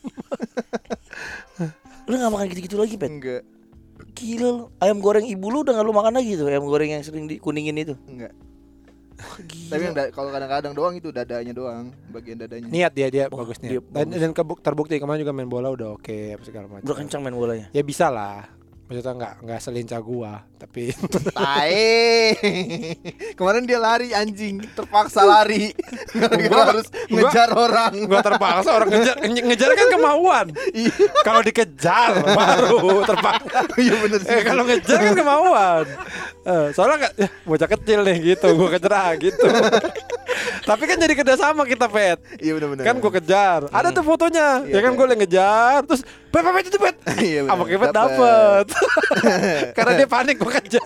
S3: Lu enggak makan gitu-gitu lagi Pet.
S2: Enggak,
S3: Gila lu. Ayam goreng ibu lu udah enggak lu makan lagi tuh, ayam goreng yang sering dikuningin itu.
S2: enggak.
S3: Wah, gila.
S2: Tapi yang da- kalau kadang-kadang doang itu dadanya doang, bagian dadanya.
S1: Niat dia dia
S3: Wah,
S1: bagus
S3: dia
S1: niat. Dan,
S3: bagus.
S1: dan kebuk, terbukti kemarin juga main bola udah oke apa segala macam.
S3: Udah kencang main bolanya.
S1: Ya bisa lah. Maksudnya nggak nggak selincah gua, tapi
S2: Tae. Kemarin dia lari anjing, terpaksa lari. Gara-gara harus ngejar orang.
S1: gua terpaksa orang ngejar nge- ngejar kan kemauan.
S2: Iya,
S1: Kalau dikejar baru terpaksa.
S2: iya bener sih.
S1: Eh kalau ngejar kan kemauan. Eh, soalnya nggak, ya, bocah kecil nih gitu, gua kejar ah, gitu. Tapi kan jadi kerjasama kita Pet.
S2: Iya bener-bener.
S1: Kan gua kejar. Ada tuh fotonya.
S2: Iya,
S1: Ya kan
S2: iya.
S1: gua yang ngejar, terus Pet Pet itu Pet.
S2: Iya bener.
S1: Sama Kepet
S2: Dapet.
S1: dapet. Karena dia panik gua kejar.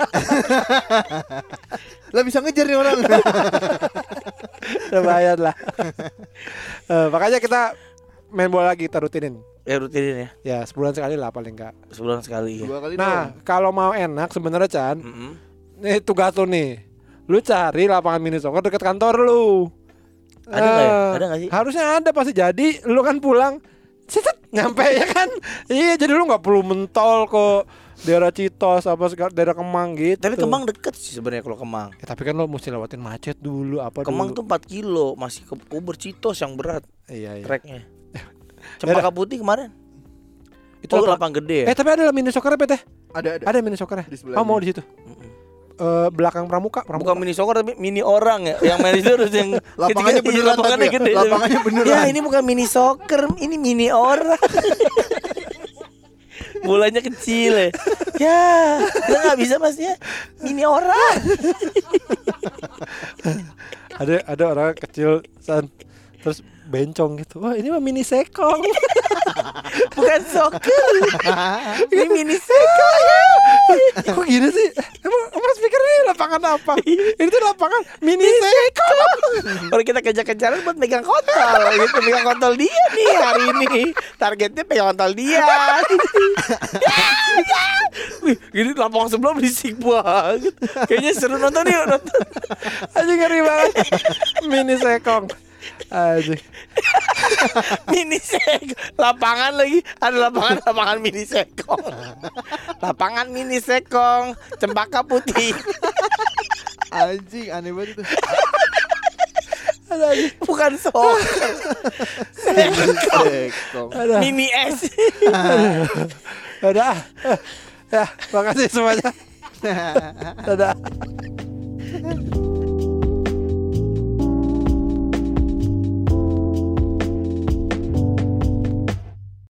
S2: Lah bisa ngejar nih orang.
S1: Lumayan lah. Eh, makanya kita main bola lagi, kita rutinin.
S3: Ya rutinin ya.
S1: Ya sebulan sekali lah paling enggak.
S3: Sebulan sekali ya.
S2: Dua kali
S1: Nah kalau mau enak sebenarnya Chan,
S3: Mm-mm.
S1: nih tugas lu nih, lu cari lapangan mini soccer dekat kantor lu.
S3: Ada nggak ya?
S1: Eh,
S3: Ada nggak sih?
S1: Harusnya ada pasti. Jadi lu kan pulang, set nyampe ya kan. Iya jadi lu nggak perlu mentol ke daerah Citos apa segala daerah Kemang gitu.
S3: Tapi Kemang deket sih sebenarnya kalau Kemang.
S1: Ya, tapi kan lu mesti lewatin macet dulu apa
S3: Kemang
S1: dulu.
S3: tuh empat kilo, masih ke Uber Citos yang berat
S1: Iya iya.
S3: treknya. Cempaka Putih kemarin.
S1: Itu
S3: Oh,
S1: lapang-
S3: lapang gede ya?
S1: Eh tapi ada lah mini soccer Pet ya?
S2: Ada ada.
S1: Ada mini soccer ya?
S2: Di sebelahnya.
S1: Oh mau di situ.
S3: Mm-mm.
S1: Eh, belakang Pramuka, Pramuka.
S3: Bukan mini soccer tapi mini orang ya. Yang main itu harus yang
S2: Lapangannya
S3: kecil-kecil,
S2: beneran
S3: lapangannya
S2: tapi ya?
S3: gede.
S2: Lapangannya beneran.
S3: Ya ini bukan mini soccer, ini mini orang. Bolanya kecil ya. Ya, kita nggak bisa masnya mini orang.
S1: ada ada orang kecil San, terus bencong gitu. Wah ini mah mini sekong.
S3: Bukan soccer. Ini mini sekong.
S1: Kok gini sih? Emang emang speaker ini lapangan apa? Ini tuh lapangan mini sekong.
S3: Kalau kita kejar-kejaran buat megang kontol gitu, megang kontol dia nih hari ini. Targetnya pegang kontol dia. Wih, gini lapangan sebelah berisik banget. Kayaknya seru nonton yuk nonton.
S1: Aja ngeri banget. Mini sekong. Aduh.
S3: Mini sekong. Lapangan lagi. Ada lapangan lapangan mini sekong. Lapangan mini sekong. Cempaka putih.
S2: Anjing aneh banget itu.
S1: Ada aja.
S3: Bukan soccer.
S2: Sekong.
S1: Ada.
S3: Mini S.
S1: Ada. Ya, makasih semuanya. Dadah.